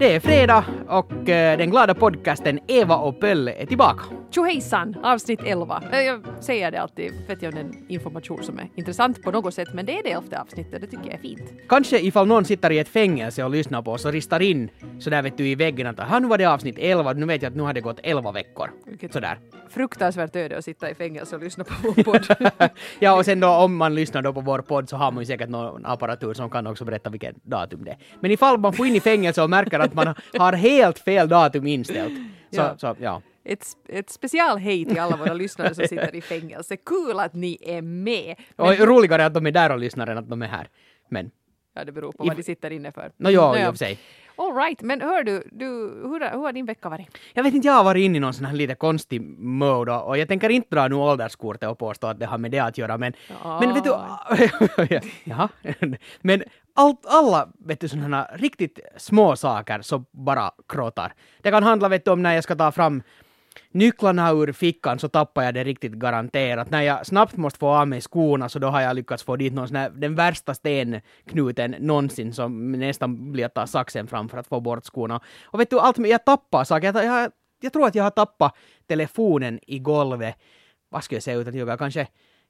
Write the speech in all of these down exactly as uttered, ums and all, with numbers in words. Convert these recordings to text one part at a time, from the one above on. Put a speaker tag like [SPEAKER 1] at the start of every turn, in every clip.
[SPEAKER 1] Det är fredag och eh, den glada podcasten Eva och Pölle är tillbaka.
[SPEAKER 2] Tjohejsan, avsnitt elva. Jag säger det alltid för att jag har en information som är intressant på något sätt, men det är det elfte avsnittet, det tycker jag är fint.
[SPEAKER 1] Kanske ifall någon sitter i ett fängelse och lyssnar på oss och ristar in så där vet du i väggen att här nu var det avsnitt elva, nu vet jag att nu har det gått elva veckor.
[SPEAKER 2] Vilket
[SPEAKER 1] sådär.
[SPEAKER 2] Fruktansvärt öde att sitta i fängelse och lyssna på vår podd.
[SPEAKER 1] Ja, och sen då om man lyssnar då på vår podd så har man ju säkert någon apparatur som kan också berätta vilket datum det är. Men ifall man får in i fängelse och märker att man har helt fel datum inställt. Så
[SPEAKER 2] Ja.
[SPEAKER 1] så, ja.
[SPEAKER 2] Ett, ett special hej till alla våra lyssnare som sitter i fängelse. Kul att ni är med. Men,
[SPEAKER 1] Och roligare att de är där och lyssnar än att de är här. Men,
[SPEAKER 2] ja, det beror på vad de sitter inne för.
[SPEAKER 1] no, ja,
[SPEAKER 2] Nå,
[SPEAKER 1] i och för sig.
[SPEAKER 2] All right, men hör du, du hur, hur har din vecka varit?
[SPEAKER 1] Jag vet inte, jag har varit inne i någon sån här lite konstig mode och jag tänker inte dra nu ålderskortet och påstå att det har med det att göra, men,
[SPEAKER 2] Ja.
[SPEAKER 1] men vet du, ja, men allt, alla vet du sådana här riktigt små saker så bara kråtar. Det kan handla vet du om när jag ska ta fram nycklarna ur fickan så tappar jag det riktigt garanterat. När jag snabbt måste få av mig skorna så då har jag lyckats få dit någon sån här, den värsta stenknuten någonsin som nästan blir att ta saxen fram för att få bort skorna. Och vet du, allt med, jag tappar saker. Jag, jag, jag tror att jag har tappat telefonen i golvet. Vad ska jag säga utan jag kanske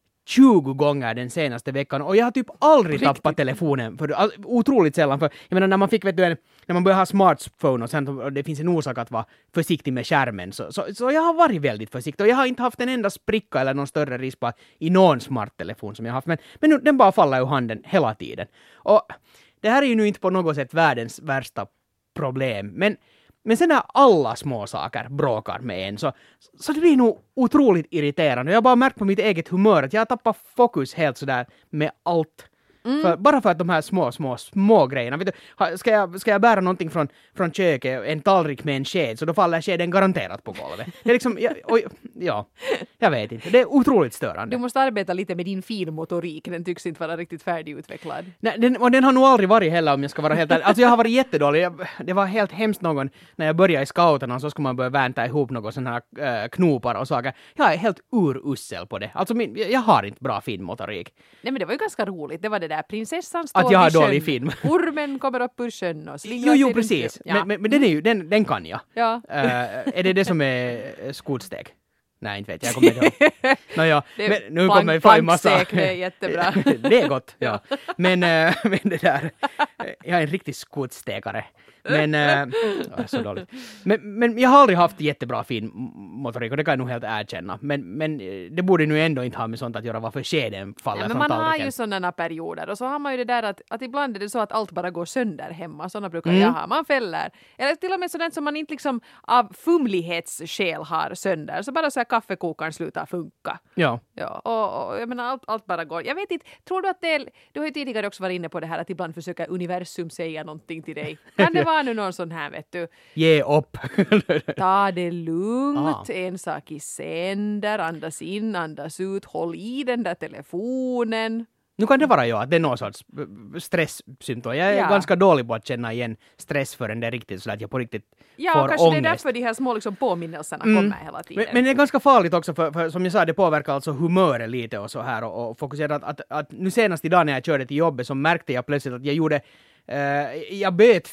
[SPEAKER 1] tjugo gånger den senaste veckan och jag har typ aldrig
[SPEAKER 2] Riktigt?
[SPEAKER 1] tappat telefonen för all, otroligt sällan för jag menar när man fick vet du en, när man börjar ha smartphone och sen och det finns en orsak att vara försiktig med skärmen så, så, så jag har varit väldigt försiktig och jag har inte haft en enda spricka eller någon större rispa i någon smarttelefon som jag har haft men, men nu, den bara faller ur handen hela tiden och det här är ju nu inte på något sätt världens värsta problem men Men sen när alla små saker bråkar med en så, så det blir nog otroligt irriterande. Jag har bara märkt på mitt eget humör att jag tappar fokus helt sådär med allt.
[SPEAKER 2] Mm.
[SPEAKER 1] För, bara för att de här små, små, små grejerna. Vet du, ha- ska, jag, ska jag bära någonting från, från köket, en tallrik med en sked, så då faller skeden garanterat på golvet. Det är liksom, ja, oj, ja, jag vet inte. Det är otroligt störande.
[SPEAKER 2] Du måste arbeta lite med din finmotorik, den tycks inte vara riktigt färdigutvecklad.
[SPEAKER 1] Nej, den, och den har nog aldrig varit heller om jag ska vara helt ärlig. Alltså jag har varit jättedålig. Jag, det var helt hemskt någon när jag började i scouterna så skulle man börja vänta ihop något sådana här äh, knopar och saker. Jag är helt urussel på det. Alltså min, jag, jag har inte bra finmotorik.
[SPEAKER 2] Nej men det var ju ganska roligt, det var det där prinsessan står
[SPEAKER 1] Att jag har
[SPEAKER 2] vid sjön.
[SPEAKER 1] dålig film.
[SPEAKER 2] Ormen kommer upp ur sjön och slingrar
[SPEAKER 1] Jo, jo,
[SPEAKER 2] sig runt-
[SPEAKER 1] precis.
[SPEAKER 2] Ja.
[SPEAKER 1] Men, men, men den, är ju, den, den kan jag.
[SPEAKER 2] Ja.
[SPEAKER 1] Äh, är det det som är äh, skotsteg? Nej, inte vet jag. Jag kommer inte ihåg. No, ja.
[SPEAKER 2] Det är
[SPEAKER 1] Men nu
[SPEAKER 2] plank-
[SPEAKER 1] kommer jag få en massa...
[SPEAKER 2] plankstek, det är jättebra.
[SPEAKER 1] Det är gott, ja. Men, äh, men det där... Jag är en riktig skotstegare. Men... Äh, så dåligt. Men, men jag har aldrig haft jättebra fin motorik och det kan jag nog helt erkänna. Men, men det borde nu ändå inte ha med sånt att göra varför skeden faller
[SPEAKER 2] Ja, men
[SPEAKER 1] från
[SPEAKER 2] man har
[SPEAKER 1] tallriken.
[SPEAKER 2] ju sådana perioder och så har man ju det där att, att ibland är det så att allt bara går sönder hemma. Sådana brukar
[SPEAKER 1] Mm.
[SPEAKER 2] jag ha. Man fäller. Eller till och med sådant som man inte liksom av fumlighetsskäl har sönder. Så bara så här kaffekokaren slutar funka.
[SPEAKER 1] Ja.
[SPEAKER 2] Ja, och, och jag menar allt, allt bara går. Jag vet inte, tror du att det är, du har ju tidigare också varit inne på det här att ibland försöker universum säga någonting till dig. Kan det vara nu någon sån här vet du?
[SPEAKER 1] Ge upp.
[SPEAKER 2] Ta det lugnt,
[SPEAKER 1] Ah.
[SPEAKER 2] en sak i sänder, andas in, andas ut, håll i den där telefonen.
[SPEAKER 1] Nu kan det vara ju att det är någon sorts eh, stresssymptom. Jag är
[SPEAKER 2] Ja.
[SPEAKER 1] ganska dålig på att känna igen stress förrän det är riktigt så att jag på riktigt
[SPEAKER 2] Ja,
[SPEAKER 1] får
[SPEAKER 2] kanske
[SPEAKER 1] ångest.
[SPEAKER 2] det är därför de här små liksom, påminnelserna
[SPEAKER 1] Mm.
[SPEAKER 2] kommer hela tiden.
[SPEAKER 1] Men, men det är ganska farligt också för, för som jag sa, det påverkar alltså humöret lite och så här och, och fokusera att, att, att nu senast idag när jag körde till jobbet så märkte jag plötsligt att jag gjorde, eh, jag böt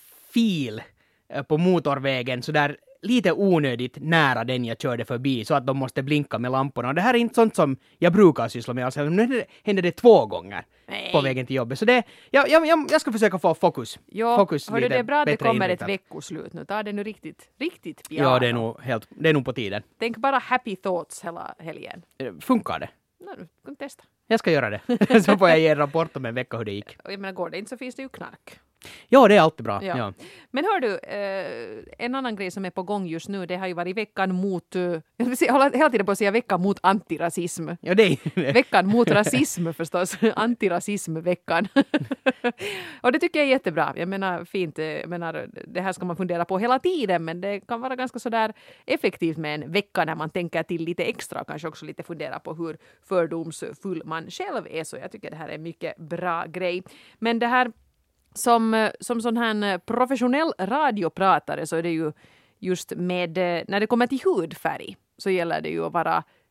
[SPEAKER 1] fil eh, på motorvägen så där lite onödigt nära den jag körde förbi så att de måste blinka med lamporna. Och det här är inte sånt som jag brukar syssla med. Alltså, nu hände det, hände det två gånger
[SPEAKER 2] Nej.
[SPEAKER 1] på vägen till jobbet. Så det, jag, jag, jag, jag ska försöka få fokus.
[SPEAKER 2] Jo,
[SPEAKER 1] fokus
[SPEAKER 2] hördu,
[SPEAKER 1] lite
[SPEAKER 2] det är bra att det
[SPEAKER 1] bättre
[SPEAKER 2] kommer
[SPEAKER 1] inriktat.
[SPEAKER 2] ett veckoslut nu. Ta det nu riktigt, riktigt
[SPEAKER 1] Ja,
[SPEAKER 2] piano.
[SPEAKER 1] det är, nog helt, det är nog på tiden.
[SPEAKER 2] Tänk bara happy thoughts hela helgen.
[SPEAKER 1] Eh, Funkar det?
[SPEAKER 2] No, du kan testa.
[SPEAKER 1] Jag ska göra det. Så får jag ge en rapport om en vecka hur det gick.
[SPEAKER 2] Och jag menar, går det inte så finns det ju knark.
[SPEAKER 1] Ja, det är alltid bra.
[SPEAKER 2] Ja.
[SPEAKER 1] Ja.
[SPEAKER 2] Men hör du, eh, en annan grej som är på gång just nu, det har ju varit veckan mot, eh, jag vill säga- jag håller hela tiden på att säga veckan mot antirasism.
[SPEAKER 1] Ja, det är
[SPEAKER 2] Veckan mot rasism förstås, antirasismveckan. Och det tycker jag är jättebra. Jag menar fint, eh, jag menar, det här ska man fundera på hela tiden, men det kan vara ganska sådär effektivt med en vecka när man tänker till lite extra och kanske också lite fundera på hur fördomsfull man själv är. Så jag tycker det här är en mycket bra grej. Men det här som, som sån här professionell radiopratare så är det ju just med, när det kommer till hudfärg så gäller det ju att vara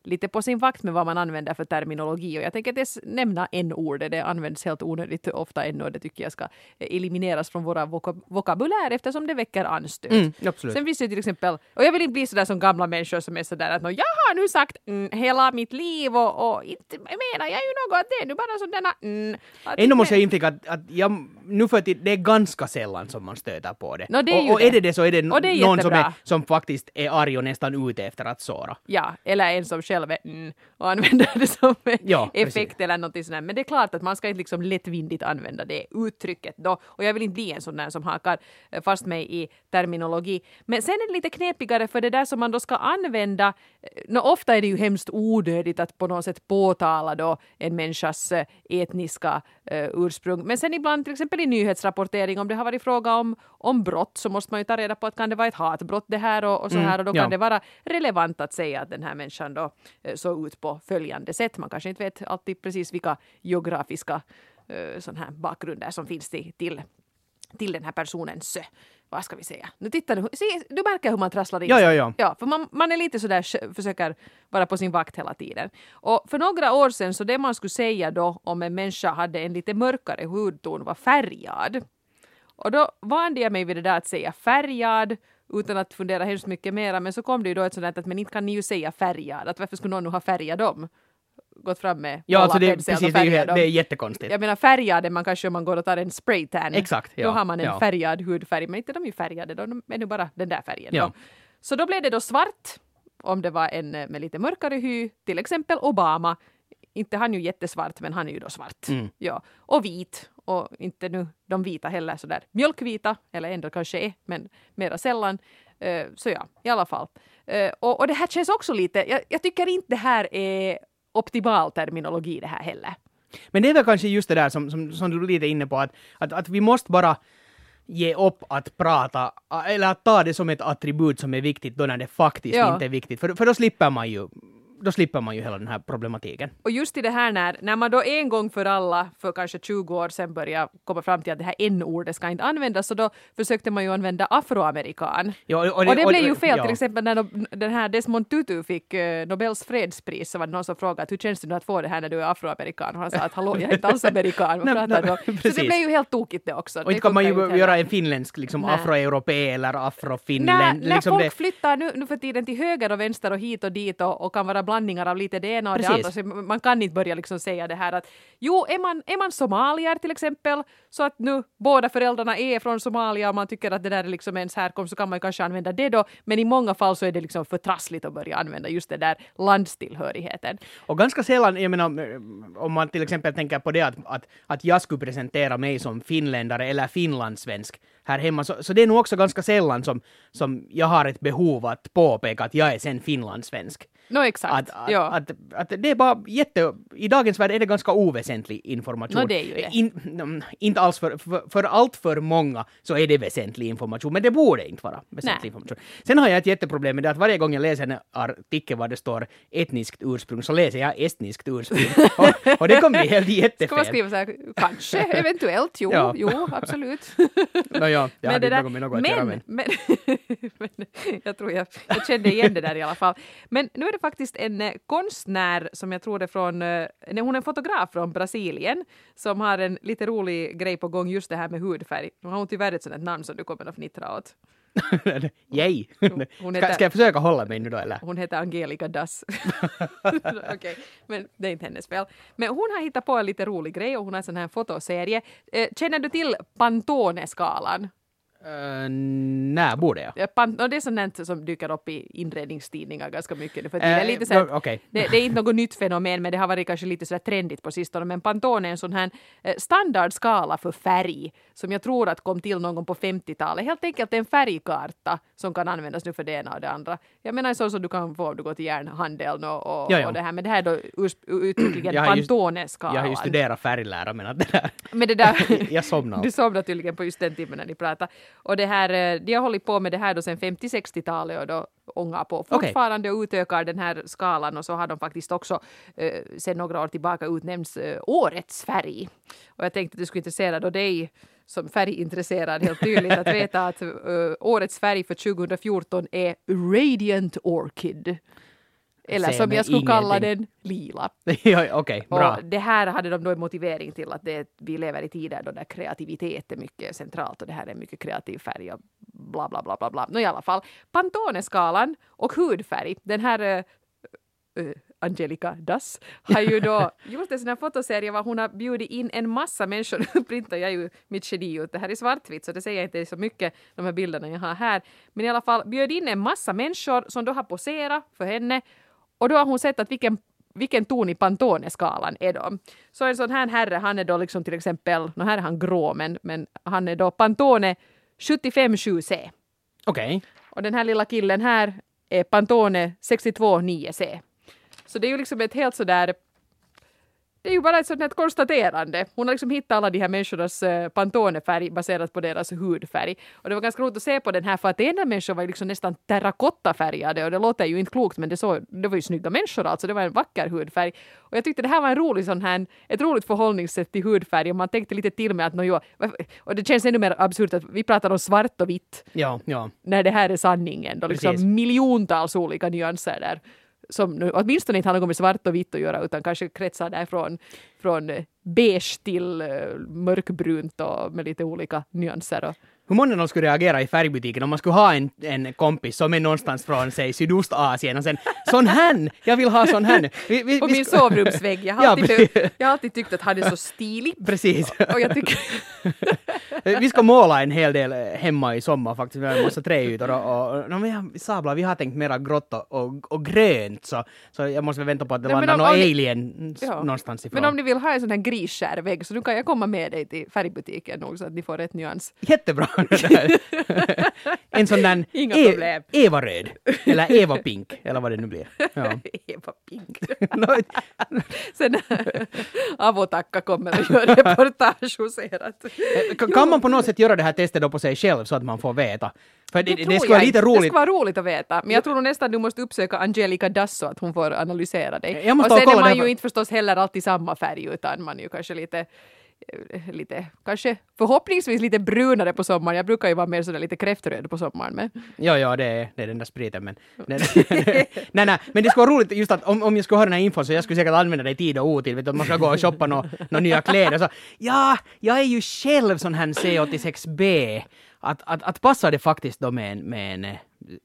[SPEAKER 2] lite på sin vakt med vad man använder för terminologi. Och jag tänker att nämna n-ordet. Det används helt onödigt ofta ännu och det tycker jag ska elimineras från våra vok- vokabulär eftersom det väcker anstöt.
[SPEAKER 1] Mm, absolut.
[SPEAKER 2] Sen finns det till exempel, och jag vill inte bli sådär som gamla människor som är sådär att jag har nu sagt mm, hela mitt liv och, och inte menar jag ju något, det är nu bara sådana mm.
[SPEAKER 1] Ändå måste jag inflika att, att jag, nu för att det är ganska sällan som man stöter på det.
[SPEAKER 2] No, det är
[SPEAKER 1] och, och
[SPEAKER 2] det.
[SPEAKER 1] är det det så är det,
[SPEAKER 2] och det är
[SPEAKER 1] någon som, är,
[SPEAKER 2] som,
[SPEAKER 1] som faktiskt är arg och nästan ute efter att såra.
[SPEAKER 2] Ja, eller en som själv är mm, och använder det som
[SPEAKER 1] ja,
[SPEAKER 2] effekt
[SPEAKER 1] precis.
[SPEAKER 2] eller något sånt. Men det är klart att man ska inte liksom lättvindigt använda det uttrycket då. Och jag vill inte bli en sån där som hakar fast mig i terminologi. Men sen är det lite knepigare för det där som man då ska använda. No, ofta är det ju hemskt onödigt att på något sätt påtala då en människas etniska uh, ursprung. Men sen ibland till exempel i nyhetsrapportering om det har varit fråga om, om brott så måste man ju ta reda på att kan det vara ett hatbrott det här och, och så här. Och då
[SPEAKER 1] Mm,
[SPEAKER 2] kan
[SPEAKER 1] ja.
[SPEAKER 2] det vara relevant att säga att den här människan då uh, såg ut på följande sätt. Man kanske inte vet alltid precis vilka geografiska uh, sån här bakgrunder som finns till, till, till den här personens uh, vad ska vi säga? Nu tittar du, se, du märker hur man trasslar in
[SPEAKER 1] Ja,
[SPEAKER 2] sig.
[SPEAKER 1] ja, ja.
[SPEAKER 2] Ja, för man, man är lite sådär, försöker vara på sin vakt hela tiden. Och för några år sedan så det man skulle säga då om en människa hade en lite mörkare hudton var färgad. Och då vande jag mig vid det där att säga färgad utan att fundera hemskt mycket mera. Men så kom det ju då ett sådant att men inte kan ni ju säga färgad. Att varför skulle någon nu ha färgat dem? Gått fram med
[SPEAKER 1] Ja, alltså det,
[SPEAKER 2] pensel och
[SPEAKER 1] precis, det, är, ju-
[SPEAKER 2] färgat dem.
[SPEAKER 1] det är jättekonstigt.
[SPEAKER 2] Jag menar färgade man kanske om man går och tar en spraytan.
[SPEAKER 1] Exakt, ja,
[SPEAKER 2] Då har man en
[SPEAKER 1] ja.
[SPEAKER 2] färgad hudfärg. Men inte de är ju färgade, de är nu bara den där färgen.
[SPEAKER 1] Ja.
[SPEAKER 2] Då. Så då blev det då svart om det var en med lite mörkare hy. Till exempel Obama. Inte han ju jättesvart men han är ju då svart.
[SPEAKER 1] Mm.
[SPEAKER 2] Ja. Och vit. Och inte nu de vita heller sådär mjölkvita. Eller ändå kanske är men mera sällan. Uh, så ja, i alla fall. Uh, och, och det här känns också lite, jag, jag tycker inte det här är optimal terminologi det här heller.
[SPEAKER 1] Men det är väl kanske just det där som, som, som du är lite inne på, att, att, att vi måste bara ge upp att prata, eller att ta det som ett attribut som är viktigt då när det faktiskt
[SPEAKER 2] Ja.
[SPEAKER 1] inte är viktigt. För, för då slipper man ju då slipper man ju hela den här problematiken.
[SPEAKER 2] Och just i det här när, när man då en gång för alla för kanske tjugo år sedan började komma fram till att det här n-ordet ska inte användas, så då försökte man ju använda afroamerikan.
[SPEAKER 1] Ja, och,
[SPEAKER 2] Och det blev ju fel,
[SPEAKER 1] ja.
[SPEAKER 2] till exempel när de, den här Desmond Tutu fick uh, Nobels fredspris, så var det någon som frågade hur känns det nu att få det här när du är afroamerikan? Och han sa att hallå, jag är inte alls amerikan. Vad
[SPEAKER 1] Nej,
[SPEAKER 2] pratar du om?
[SPEAKER 1] nej,
[SPEAKER 2] Så
[SPEAKER 1] precis.
[SPEAKER 2] det blev ju helt tokigt det också.
[SPEAKER 1] Och
[SPEAKER 2] Det
[SPEAKER 1] inte kan man ju
[SPEAKER 2] funkar inte
[SPEAKER 1] göra
[SPEAKER 2] heller.
[SPEAKER 1] en finländsk liksom
[SPEAKER 2] Nej.
[SPEAKER 1] afroeuropé eller
[SPEAKER 2] När,
[SPEAKER 1] afrofinländ.
[SPEAKER 2] när
[SPEAKER 1] Liksom
[SPEAKER 2] folk
[SPEAKER 1] det,
[SPEAKER 2] flyttar nu, nu för tiden till höger och vänster och hit och dit och, och kan vara blandningar av lite det ena och
[SPEAKER 1] Precis.
[SPEAKER 2] det andra. Så man kan inte börja liksom säga det här att jo, är man, är man somalier till exempel, så att nu båda föräldrarna är från Somalia och man tycker att det där är liksom ens härkomst, så kan man ju kanske använda det då. Men i många fall så är det liksom för trassligt att börja använda just det där landstillhörigheten.
[SPEAKER 1] och ganska sällan, jag menar, om man till exempel tänker på det att, att, att jag skulle presentera mig som finländare eller finlandssvensk här hemma, så, så det är nog också ganska sällan som, som jag har ett behov att påpeka att jag är sen finlandssvensk.
[SPEAKER 2] No, exakt.
[SPEAKER 1] Att, att,
[SPEAKER 2] ja.
[SPEAKER 1] att, att det är bara jätte... I dagens värld är det ganska oväsentlig information.
[SPEAKER 2] No, det är ju det.
[SPEAKER 1] In, mm, inte alls för, för, för allt för många så är det väsentlig information, men det borde inte vara väsentlig
[SPEAKER 2] Nej.
[SPEAKER 1] information. Sen har jag ett jätteproblem med det att varje gång jag läser en artikel var det står etniskt ursprung så läser jag estniskt ursprung. och, och det kommer bli helt jättefel.
[SPEAKER 2] Ska man skriva så här, kanske, eventuellt, jo,
[SPEAKER 1] Ja.
[SPEAKER 2] jo, absolut.
[SPEAKER 1] No, ja, jag
[SPEAKER 2] Men
[SPEAKER 1] hade
[SPEAKER 2] det
[SPEAKER 1] inte
[SPEAKER 2] där-
[SPEAKER 1] något med något att göra,
[SPEAKER 2] men,
[SPEAKER 1] men...
[SPEAKER 2] men, men jag tror jag, jag kände igen det där i alla fall. Men nu är det faktiskt en eh, konstnär som jag tror är från, eh, nej, hon är en fotograf från Brasilien som har en lite rolig grej på gång just det här med hudfärg. Nu har hon tyvärr ett sådant namn som du kommer att fnittra åt.
[SPEAKER 1] Yay!
[SPEAKER 2] Hon
[SPEAKER 1] Ska,
[SPEAKER 2] heter-
[SPEAKER 1] ska jag försöka hålla mig nu då, eller?
[SPEAKER 2] Hon heter Angelica Das. Okej, men det är inte hennes fel. Men hon har hittat på en lite rolig grej och hon har en sån här fotoserie. Eh, Känner du till Pantone-skalan?
[SPEAKER 1] Uh, nej, borde jag?
[SPEAKER 2] Ja, Pan- och det är sånt som dyker upp i inredningstidningar ganska mycket nu för tiden. Det är lite så här,
[SPEAKER 1] Eh, okej.
[SPEAKER 2] det, det är inte något nytt fenomen, men det har varit kanske lite så där trendigt på sistone. Men Pantone är en sån här eh, standardskala för färg som jag tror att kom till någon gång på femtiotalet. Helt enkelt en färgkarta som kan användas nu för det ena och det andra. Jag menar så som du kan få om du går till järnhandeln och, och,
[SPEAKER 1] Ja, ja.
[SPEAKER 2] och det här. Men det här är då urs- uttryckligen
[SPEAKER 1] Jag har just-
[SPEAKER 2] Pantone-skalan.
[SPEAKER 1] Jag har ju studerat färglära, men att det där...
[SPEAKER 2] Men det där...
[SPEAKER 1] jag somnade.
[SPEAKER 2] Du somnade tydligen på just den timmen när ni pratade. Och det här, eh, de har hållit på med det här då sen femtio-sextiotalet och då ångar på fortfarande och utökar den här skalan, och så har de faktiskt också eh, sen några år tillbaka utnämnts eh, årets färg. Och jag tänkte att du skulle intressera då dig som färgintresserad helt tydligt att veta att uh, årets färg för tjugo fjorton är Radiant Orchid. Eller
[SPEAKER 1] säger
[SPEAKER 2] som
[SPEAKER 1] mig
[SPEAKER 2] jag skulle kalla
[SPEAKER 1] ingenting.
[SPEAKER 2] den, lila.
[SPEAKER 1] Ja, okej, bra.
[SPEAKER 2] Och det här hade de då en motivering till att det, vi lever i tider då där kreativitet är mycket centralt och det här är en mycket kreativ färg och bla bla bla bla bla. Nå, i alla fall, Pantone-skalan och hudfärg, den här uh, uh, Angelica Dass har ju då gjort en sån här fotoserie var hon har bjudit in en massa människor. Nu printar jag ju mitt geni ut. Det här är svartvitt så det säger inte så mycket de här bilderna jag har här. Men i alla fall bjöd in en massa människor som då har poserat för henne. Och då har hon sett att vilken, vilken ton i Pantone-skalan är de. Så en sån här herre, han är då liksom till exempel, nu här är han grå men, men han är då Pantone sjuttiofem sju C.
[SPEAKER 1] Okej. Okay.
[SPEAKER 2] Och den här lilla killen här är Pantone sextiotvå nio C. Så det är ju liksom ett helt sådär, det är ju bara ett sådant här konstaterande. Hon har liksom hittat alla de här människornas uh, Pantone-färg baserat på deras hudfärg. Och det var ganska roligt att se på den här för att ena människor var ju liksom nästan terrakottafärgade och det låter ju inte klokt men det, så, det var ju snygga människor alltså, det var en vacker hudfärg. Och jag tyckte det här var en rolig sån här, ett roligt förhållningssätt till hudfärg och man tänkte lite till med att no, jo, och det känns ännu mer absurt att vi pratar om svart och vitt.
[SPEAKER 1] Ja, ja.
[SPEAKER 2] När det här är sanningen, då liksom
[SPEAKER 1] Precis.
[SPEAKER 2] miljontals olika nyanser där. Som nu, åtminstone inte har något med svart och vitt att göra utan kanske kretsar där från, från beige till uh, mörkbrunt och med lite olika nyanser. Och
[SPEAKER 1] hur många de skulle reagera i färgbutiken om man skulle ha en, en kompis som är någonstans från sig Sydostasien och sen sån här, jag vill ha sån här. Vi, vi,
[SPEAKER 2] på
[SPEAKER 1] vi
[SPEAKER 2] min
[SPEAKER 1] ska...
[SPEAKER 2] sovrumsvägg. Jag har,
[SPEAKER 1] Ja,
[SPEAKER 2] alltid, jag har alltid tyckt att han är så stilig.
[SPEAKER 1] Precis.
[SPEAKER 2] Och jag tycker...
[SPEAKER 1] Vi ska måla en hel del hemma i sommar faktiskt. Vi har en massa träytor och, och, och no, vi, sabla, vi har tänkt mera grått och, och, och grönt så, så jag måste vänta på att det
[SPEAKER 2] Nej,
[SPEAKER 1] landar
[SPEAKER 2] om,
[SPEAKER 1] någon
[SPEAKER 2] om
[SPEAKER 1] alien
[SPEAKER 2] ni, ja.
[SPEAKER 1] någonstans ifrån.
[SPEAKER 2] Men om ni vill ha en sån här grisskärvägg så nu kan jag komma med dig till färgbutiken nog så att ni får rätt nyans.
[SPEAKER 1] Jättebra det där. En sån där
[SPEAKER 2] Inga
[SPEAKER 1] e-
[SPEAKER 2] problem.
[SPEAKER 1] Eva-röd eller Eva-pink eller vad det nu blir. Ja.
[SPEAKER 2] Eva Pink.
[SPEAKER 1] No,
[SPEAKER 2] Sen Avotakka kommer och gör reportage hos er. Att,
[SPEAKER 1] kan man på något sätt göra det här testet då på sig själv så att man får veta? För det, det, det
[SPEAKER 2] tror
[SPEAKER 1] skulle vara
[SPEAKER 2] jag
[SPEAKER 1] lite
[SPEAKER 2] inte.
[SPEAKER 1] roligt.
[SPEAKER 2] Det skulle vara roligt att veta. Men jag tror nog nästan du måste uppsöka Angelica Dass så att hon får analysera dig.
[SPEAKER 1] Jag måste
[SPEAKER 2] och sen
[SPEAKER 1] kolla
[SPEAKER 2] är man
[SPEAKER 1] det
[SPEAKER 2] ju
[SPEAKER 1] för...
[SPEAKER 2] inte förstås heller alltid samma färg utan man är ju kanske lite lite, kanske förhoppningsvis lite brunare på sommaren. Jag brukar ju vara mer sådär lite kräftröd på sommaren. Men...
[SPEAKER 1] Ja, ja, det är, det är den där spriten. Men, nej, nej, nej, men det skulle vara roligt just att om, om jag skulle ha den här infon så jag skulle säkert använda det i tid och otid. Vet du, att man ska gå och shoppa några no, nya kläder. Så, ja, jag är ju själv sån här C åttiosex B. Att, att, att passa det faktiskt då med en, med en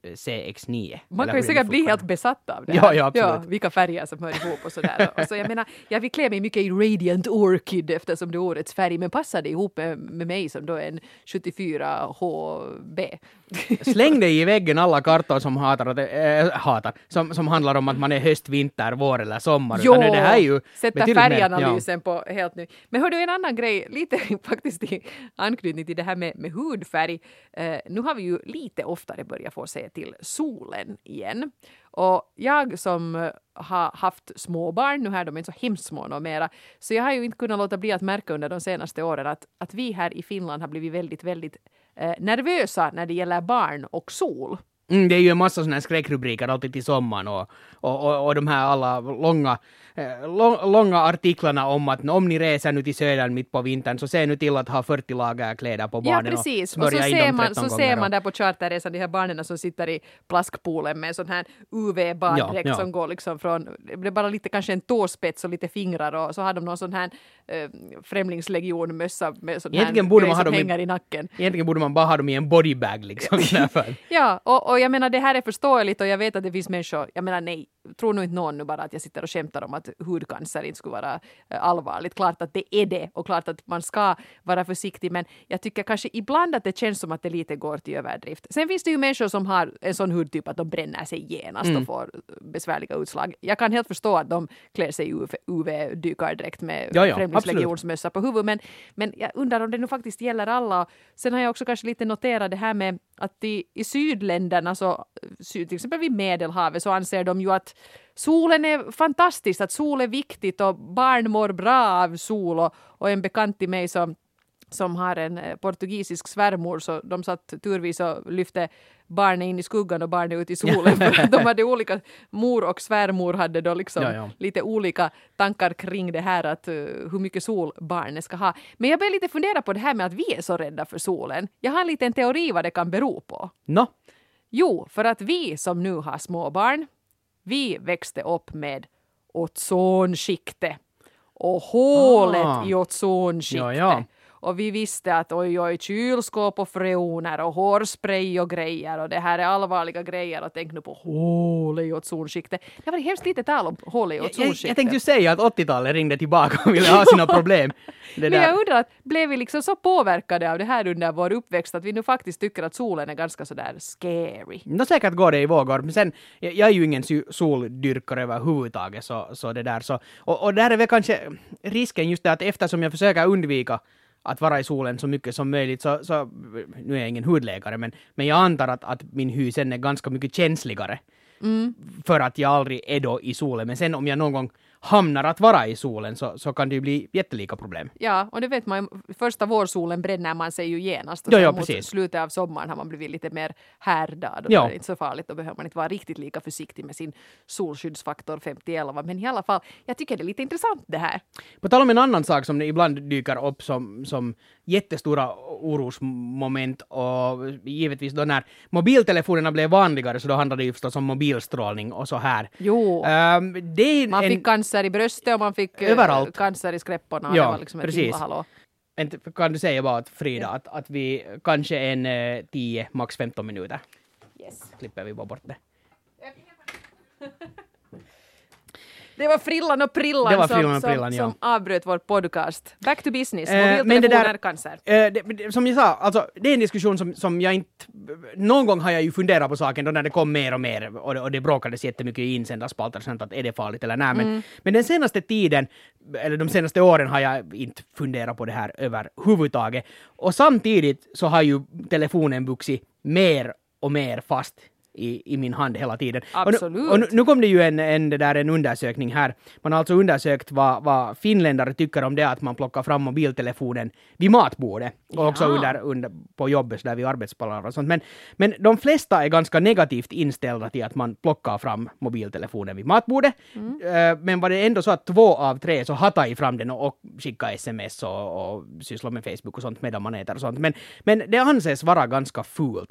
[SPEAKER 1] C X nio.
[SPEAKER 2] Man kan ju säkert bli helt besatt av det
[SPEAKER 1] här. Ja, ja, absolut.
[SPEAKER 2] Ja, vilka färger som hör ihop och sådär. Och så jag menar, jag vill klä mig mycket i Radiant Orchid eftersom det är årets färg, men passar det ihop med, med mig som då är en sjuttiofyra H B.
[SPEAKER 1] Släng dig i väggen alla kartor som hatar, äh, hatar som, som handlar om att man är höst, vinter, vår eller sommar.
[SPEAKER 2] Jo,
[SPEAKER 1] det här är ju
[SPEAKER 2] sätta färganalysen ja. på helt nu. Men hör du en annan grej, lite faktiskt i anknytning till det här med, med hudfärg. Uh, nu har vi ju lite oftare börjat få se till solen igen. Och jag som har haft småbarn, nu här de är inte så hemskt små mera, så jag har ju inte kunnat låta bli att märka under de senaste åren att, att vi här i Finland har blivit väldigt, väldigt eh, nervösa när det gäller barn och sol.
[SPEAKER 1] Mm, det är ju en massa sådana här skräckrubriker alltid till sommaren och, och, och, och de här alla långa, eh, lång, långa artiklarna om att om ni reser nu till södern mitt på vintern så se nu till att ha fyrtio lager kläder på barnen.
[SPEAKER 2] Ja, precis.
[SPEAKER 1] Och,
[SPEAKER 2] och så ser man, så ser man
[SPEAKER 1] och...
[SPEAKER 2] där på charterresan de här barnen som sitter i plaskpoolen med en sån här U V-baddräkt ja, ja. som går liksom från, det är bara lite kanske en tåspets och lite fingrar och så har de någon sån här äh, främlingslegionmössa med sån här
[SPEAKER 1] borde man
[SPEAKER 2] som
[SPEAKER 1] ha dem
[SPEAKER 2] hänger
[SPEAKER 1] i,
[SPEAKER 2] i nacken.
[SPEAKER 1] Egentligen borde man bara ha dem i en bodybag liksom.
[SPEAKER 2] Ja, och, och jag menar det här är förståeligt och jag vet att det finns människor, jag menar nej, tror nog inte någon nu bara att jag sitter och skämtar om att hudcancer inte skulle vara äh, allvarligt. Klart att det är det och klart att man ska vara försiktig, men jag tycker kanske ibland att det känns som att det lite går till överdrift. Sen finns det ju människor som har en sån hudtyp att de bränner sig genast mm. och får besvärliga utslag. Jag kan helt förstå att de klär sig i U V-dykardräkt med
[SPEAKER 1] ja, ja,
[SPEAKER 2] främlingslegionsmössa på huvudet, men, men jag undrar om det nu faktiskt gäller alla. Sen har jag också kanske lite noterat det här med att i, i sydländerna, så, till exempel vid Medelhavet, så anser de ju att solen är fantastisk, att sol är viktigt och barn mår bra av sol. Och, och en bekant till mig som, som har en portugisisk svärmor, så de satt turvis och lyfte barnen in i skuggan och barnen ut i solen. För de hade olika, mor och svärmor hade då liksom ja, ja. lite olika tankar kring det här att uh, hur mycket sol barnen ska ha. Men jag börjar lite fundera på det här med att vi är så rädda för solen. Jag har en liten teori vad det kan bero på.
[SPEAKER 1] No.
[SPEAKER 2] Jo, för att vi som nu har små barn, vi växte upp med ozonskiktet och hålet
[SPEAKER 1] Ah.
[SPEAKER 2] i ozonskiktet.
[SPEAKER 1] Ja, ja.
[SPEAKER 2] Och vi visste att oj, oj, kylskåp och freoner och hårspray och grejer och det här är allvarliga grejer och tänk nu på hål i ozonskiktet. Det var hemskt lite tal om hål i
[SPEAKER 1] Jag, jag,
[SPEAKER 2] ozonskiktet.
[SPEAKER 1] jag tänkte ju säga att åttiotalet ringde tillbaka och ville ha sina problem. Det
[SPEAKER 2] Men
[SPEAKER 1] där.
[SPEAKER 2] jag undrar, att blev vi liksom så påverkade av det här under vår uppväxt att vi nu faktiskt tycker att solen är ganska sådär scary?
[SPEAKER 1] Nå säkert går det i vågor, men sen, jag, jag är ju ingen sy- soldyrkare överhuvudtaget, så, så det där så, och, och där är väl kanske risken just det att eftersom jag försöker undvika att vara i solen så mycket som möjligt, så, så nu är jag ingen hudläkare, men, men jag antar att, att min hy sen är ganska mycket känsligare
[SPEAKER 2] Mm.
[SPEAKER 1] för att jag aldrig är då i solen, men sen om jag någon gång hamnar att vara i solen så, så kan det ju bli jättelika problem.
[SPEAKER 2] Ja, och det vet man ju, första vårsolen bränner man sig ju genast och
[SPEAKER 1] Ja,
[SPEAKER 2] sen
[SPEAKER 1] ja,
[SPEAKER 2] mot
[SPEAKER 1] precis.
[SPEAKER 2] slutet av sommaren har man blivit lite mer härdad och
[SPEAKER 1] Ja.
[SPEAKER 2] då är det inte så farligt, då behöver man inte vara riktigt lika försiktig med sin solskyddsfaktor femtioelva, men i alla fall, jag tycker det är lite intressant det här.
[SPEAKER 1] På tal om en annan sak som det ibland dyker upp som, som jättestora orosmoment och givetvis då när mobiltelefonerna blev vanligare så då handlade det ju förstås om mobilstrålning och så här.
[SPEAKER 2] Jo,
[SPEAKER 1] Um, det är
[SPEAKER 2] man
[SPEAKER 1] en,
[SPEAKER 2] fick cancer i bröstet och man fick eh,
[SPEAKER 1] Överallt.
[SPEAKER 2] cancer i skräpporna.
[SPEAKER 1] Ja,
[SPEAKER 2] det var liksom ett
[SPEAKER 1] precis.
[SPEAKER 2] hallå.
[SPEAKER 1] en, kan du säga bara att Frida att, att vi kanske en eh, tio, max femton minuter
[SPEAKER 2] Yes.
[SPEAKER 1] klipper vi bara bort det.
[SPEAKER 2] Det var frillan och prillan,
[SPEAKER 1] Det var
[SPEAKER 2] som,
[SPEAKER 1] frillan och
[SPEAKER 2] som,
[SPEAKER 1] prillan, ja.
[SPEAKER 2] som avbröt vår podcast. Back to business.
[SPEAKER 1] Eh, men det
[SPEAKER 2] Mobiltelefoner,
[SPEAKER 1] där-
[SPEAKER 2] cancer.
[SPEAKER 1] Eh, det, det, som jag sa, alltså, det är en diskussion som, som jag inte... Någon gång har jag ju funderat på saken då när det kom mer och mer och det, och det bråkades jättemycket i insändarspalter och sånt att är det farligt eller nej. Men,
[SPEAKER 2] Mm.
[SPEAKER 1] men den senaste tiden, eller de senaste åren har jag inte funderat på det här överhuvudtaget. Och samtidigt så har ju telefonen vuxit mer och mer fast i, i min hand hela tiden.
[SPEAKER 2] Absolut.
[SPEAKER 1] Och, nu, och nu, nu kom det ju en, en, det där, en undersökning här. Man har alltså undersökt vad, vad finländare tycker om det att man plockar fram mobiltelefonen vid matbordet. Och
[SPEAKER 2] Ja.
[SPEAKER 1] också under, under, på jobbet där vid arbetsplatser och sånt. Men, men de flesta är ganska negativt inställda till att man plockar fram mobiltelefonen vid matbordet.
[SPEAKER 2] Mm.
[SPEAKER 1] Uh, men var det ändå så att två av tre så hattar fram den och, och skickar sms och, och sysslar med Facebook och sånt medan man äter och sånt. Men, men det anses vara ganska fult.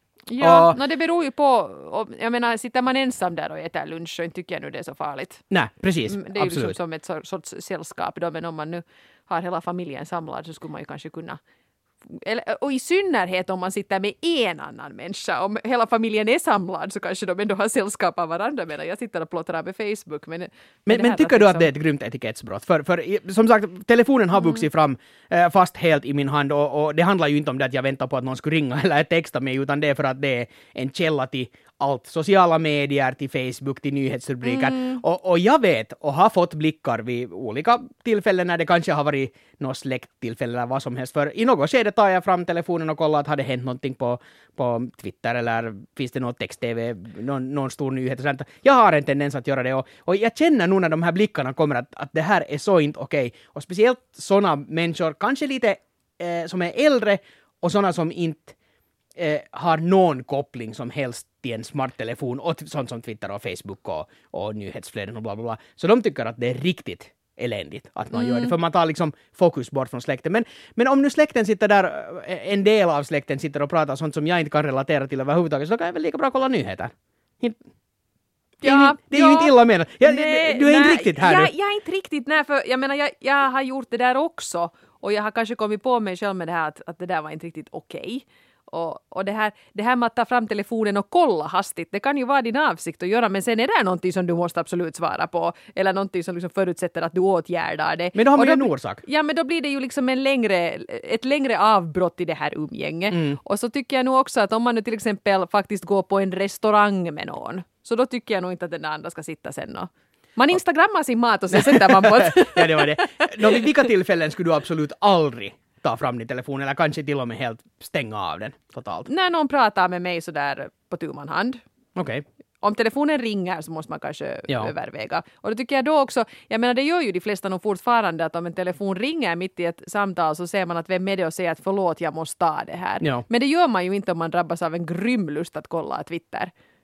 [SPEAKER 2] Ja,
[SPEAKER 1] Och-
[SPEAKER 2] no, det beror ju på, om- jag menar, sitter man ensam där och äter lunch så inte tycker jag nu det är så farligt.
[SPEAKER 1] Nej, precis.
[SPEAKER 2] Mm, Det är ju liksom
[SPEAKER 1] Absolut.
[SPEAKER 2] som ett sor- sorts sällskap då, men om man nu har hela familjen samlad så skulle man ju kanske kunna, eller, och i synnerhet om man sitter med en annan människa, om hela familjen är samlad så kanske de ändå har sällskap av varandra medan jag sitter och plottrar med Facebook. Men,
[SPEAKER 1] Men,
[SPEAKER 2] det
[SPEAKER 1] men
[SPEAKER 2] här
[SPEAKER 1] tycker du att
[SPEAKER 2] liksom-
[SPEAKER 1] det är ett grymt etikettsbrott? För, för i- som sagt, telefonen har vuxit fram eh, fast helt i min hand och, och det handlar ju inte om det att jag väntar på att någon skulle ringa eller texta mig utan det är för att det är en källa till allt. Sociala medier, till Facebook, till nyhetsrubriker. Och, och jag vet och har fått blickar vid olika tillfällen när det kanske har varit något släkttillfälle eller vad som helst. För i något skede tar jag fram telefonen och kollar att har det hänt någonting på, på Twitter eller finns det något text-tv, någon, någon stor nyhet och sånt. Jag har en tendens att göra det och, och jag känner nu när de här blickarna kommer att, att det här är så inte okej. Och speciellt sådana människor, kanske lite eh, som är äldre och sådana som inte eh, har någon koppling som helst till en smarttelefon och t- sånt som Twitter och Facebook och, och nyhetsflöden och bla bla bla. Så de tycker att det är riktigt eländigt att man gör det, för man tar liksom fokus bort från släkten. Men, men om nu släkten sitter där, eh, en del av släkten sitter och pratar sånt som jag inte kan relatera till överhuvudtaget, så då kan jag väl lika bra kolla nyheter. Inte- Det är,
[SPEAKER 2] Ja,
[SPEAKER 1] ju, det är ju
[SPEAKER 2] ja.
[SPEAKER 1] inte illa menat. Jag,
[SPEAKER 2] Nej,
[SPEAKER 1] du är inte
[SPEAKER 2] nej,
[SPEAKER 1] riktigt här
[SPEAKER 2] jag,
[SPEAKER 1] nu.
[SPEAKER 2] jag är inte riktigt, nej, för jag menar, jag, jag har gjort det där också och jag har kanske kommit på mig själv med det här att, att det där var inte riktigt okej. Och, och det, här, det här med att ta fram telefonen och kolla hastigt, det kan ju vara din avsikt att göra, men sen är det någonting som du måste absolut svara på, eller någonting som liksom förutsätter att du åtgärdar det.
[SPEAKER 1] Men då har man
[SPEAKER 2] Och
[SPEAKER 1] ju en
[SPEAKER 2] bli-
[SPEAKER 1] orsak.
[SPEAKER 2] Ja, men då blir det ju liksom en längre, ett längre avbrott i det här umgänget.
[SPEAKER 1] Mm.
[SPEAKER 2] Och så tycker jag nog också att om man nu till exempel faktiskt går på en restaurang med någon, så då tycker jag nog inte att den andra ska sitta sen och man instagrammar sin mat och sen sätter man på ett...
[SPEAKER 1] Ja, det var det. Nå, vid vilka tillfällen skulle du absolut aldrig ta fram din telefon eller kanske till och med helt stänga av den totalt?
[SPEAKER 2] När någon pratar med mig så där på tu man hand.
[SPEAKER 1] Okej.
[SPEAKER 2] Om telefonen ringer så måste man kanske
[SPEAKER 1] Ja.
[SPEAKER 2] överväga. Och då tycker jag då också, jag menar det gör ju de flesta nog fortfarande att om en telefon ringer mitt i ett samtal så ser man att vem är det och säger att förlåt jag måste ta det här.
[SPEAKER 1] Ja.
[SPEAKER 2] Men det gör man ju inte om man drabbas av en grym lust att kolla Twitter.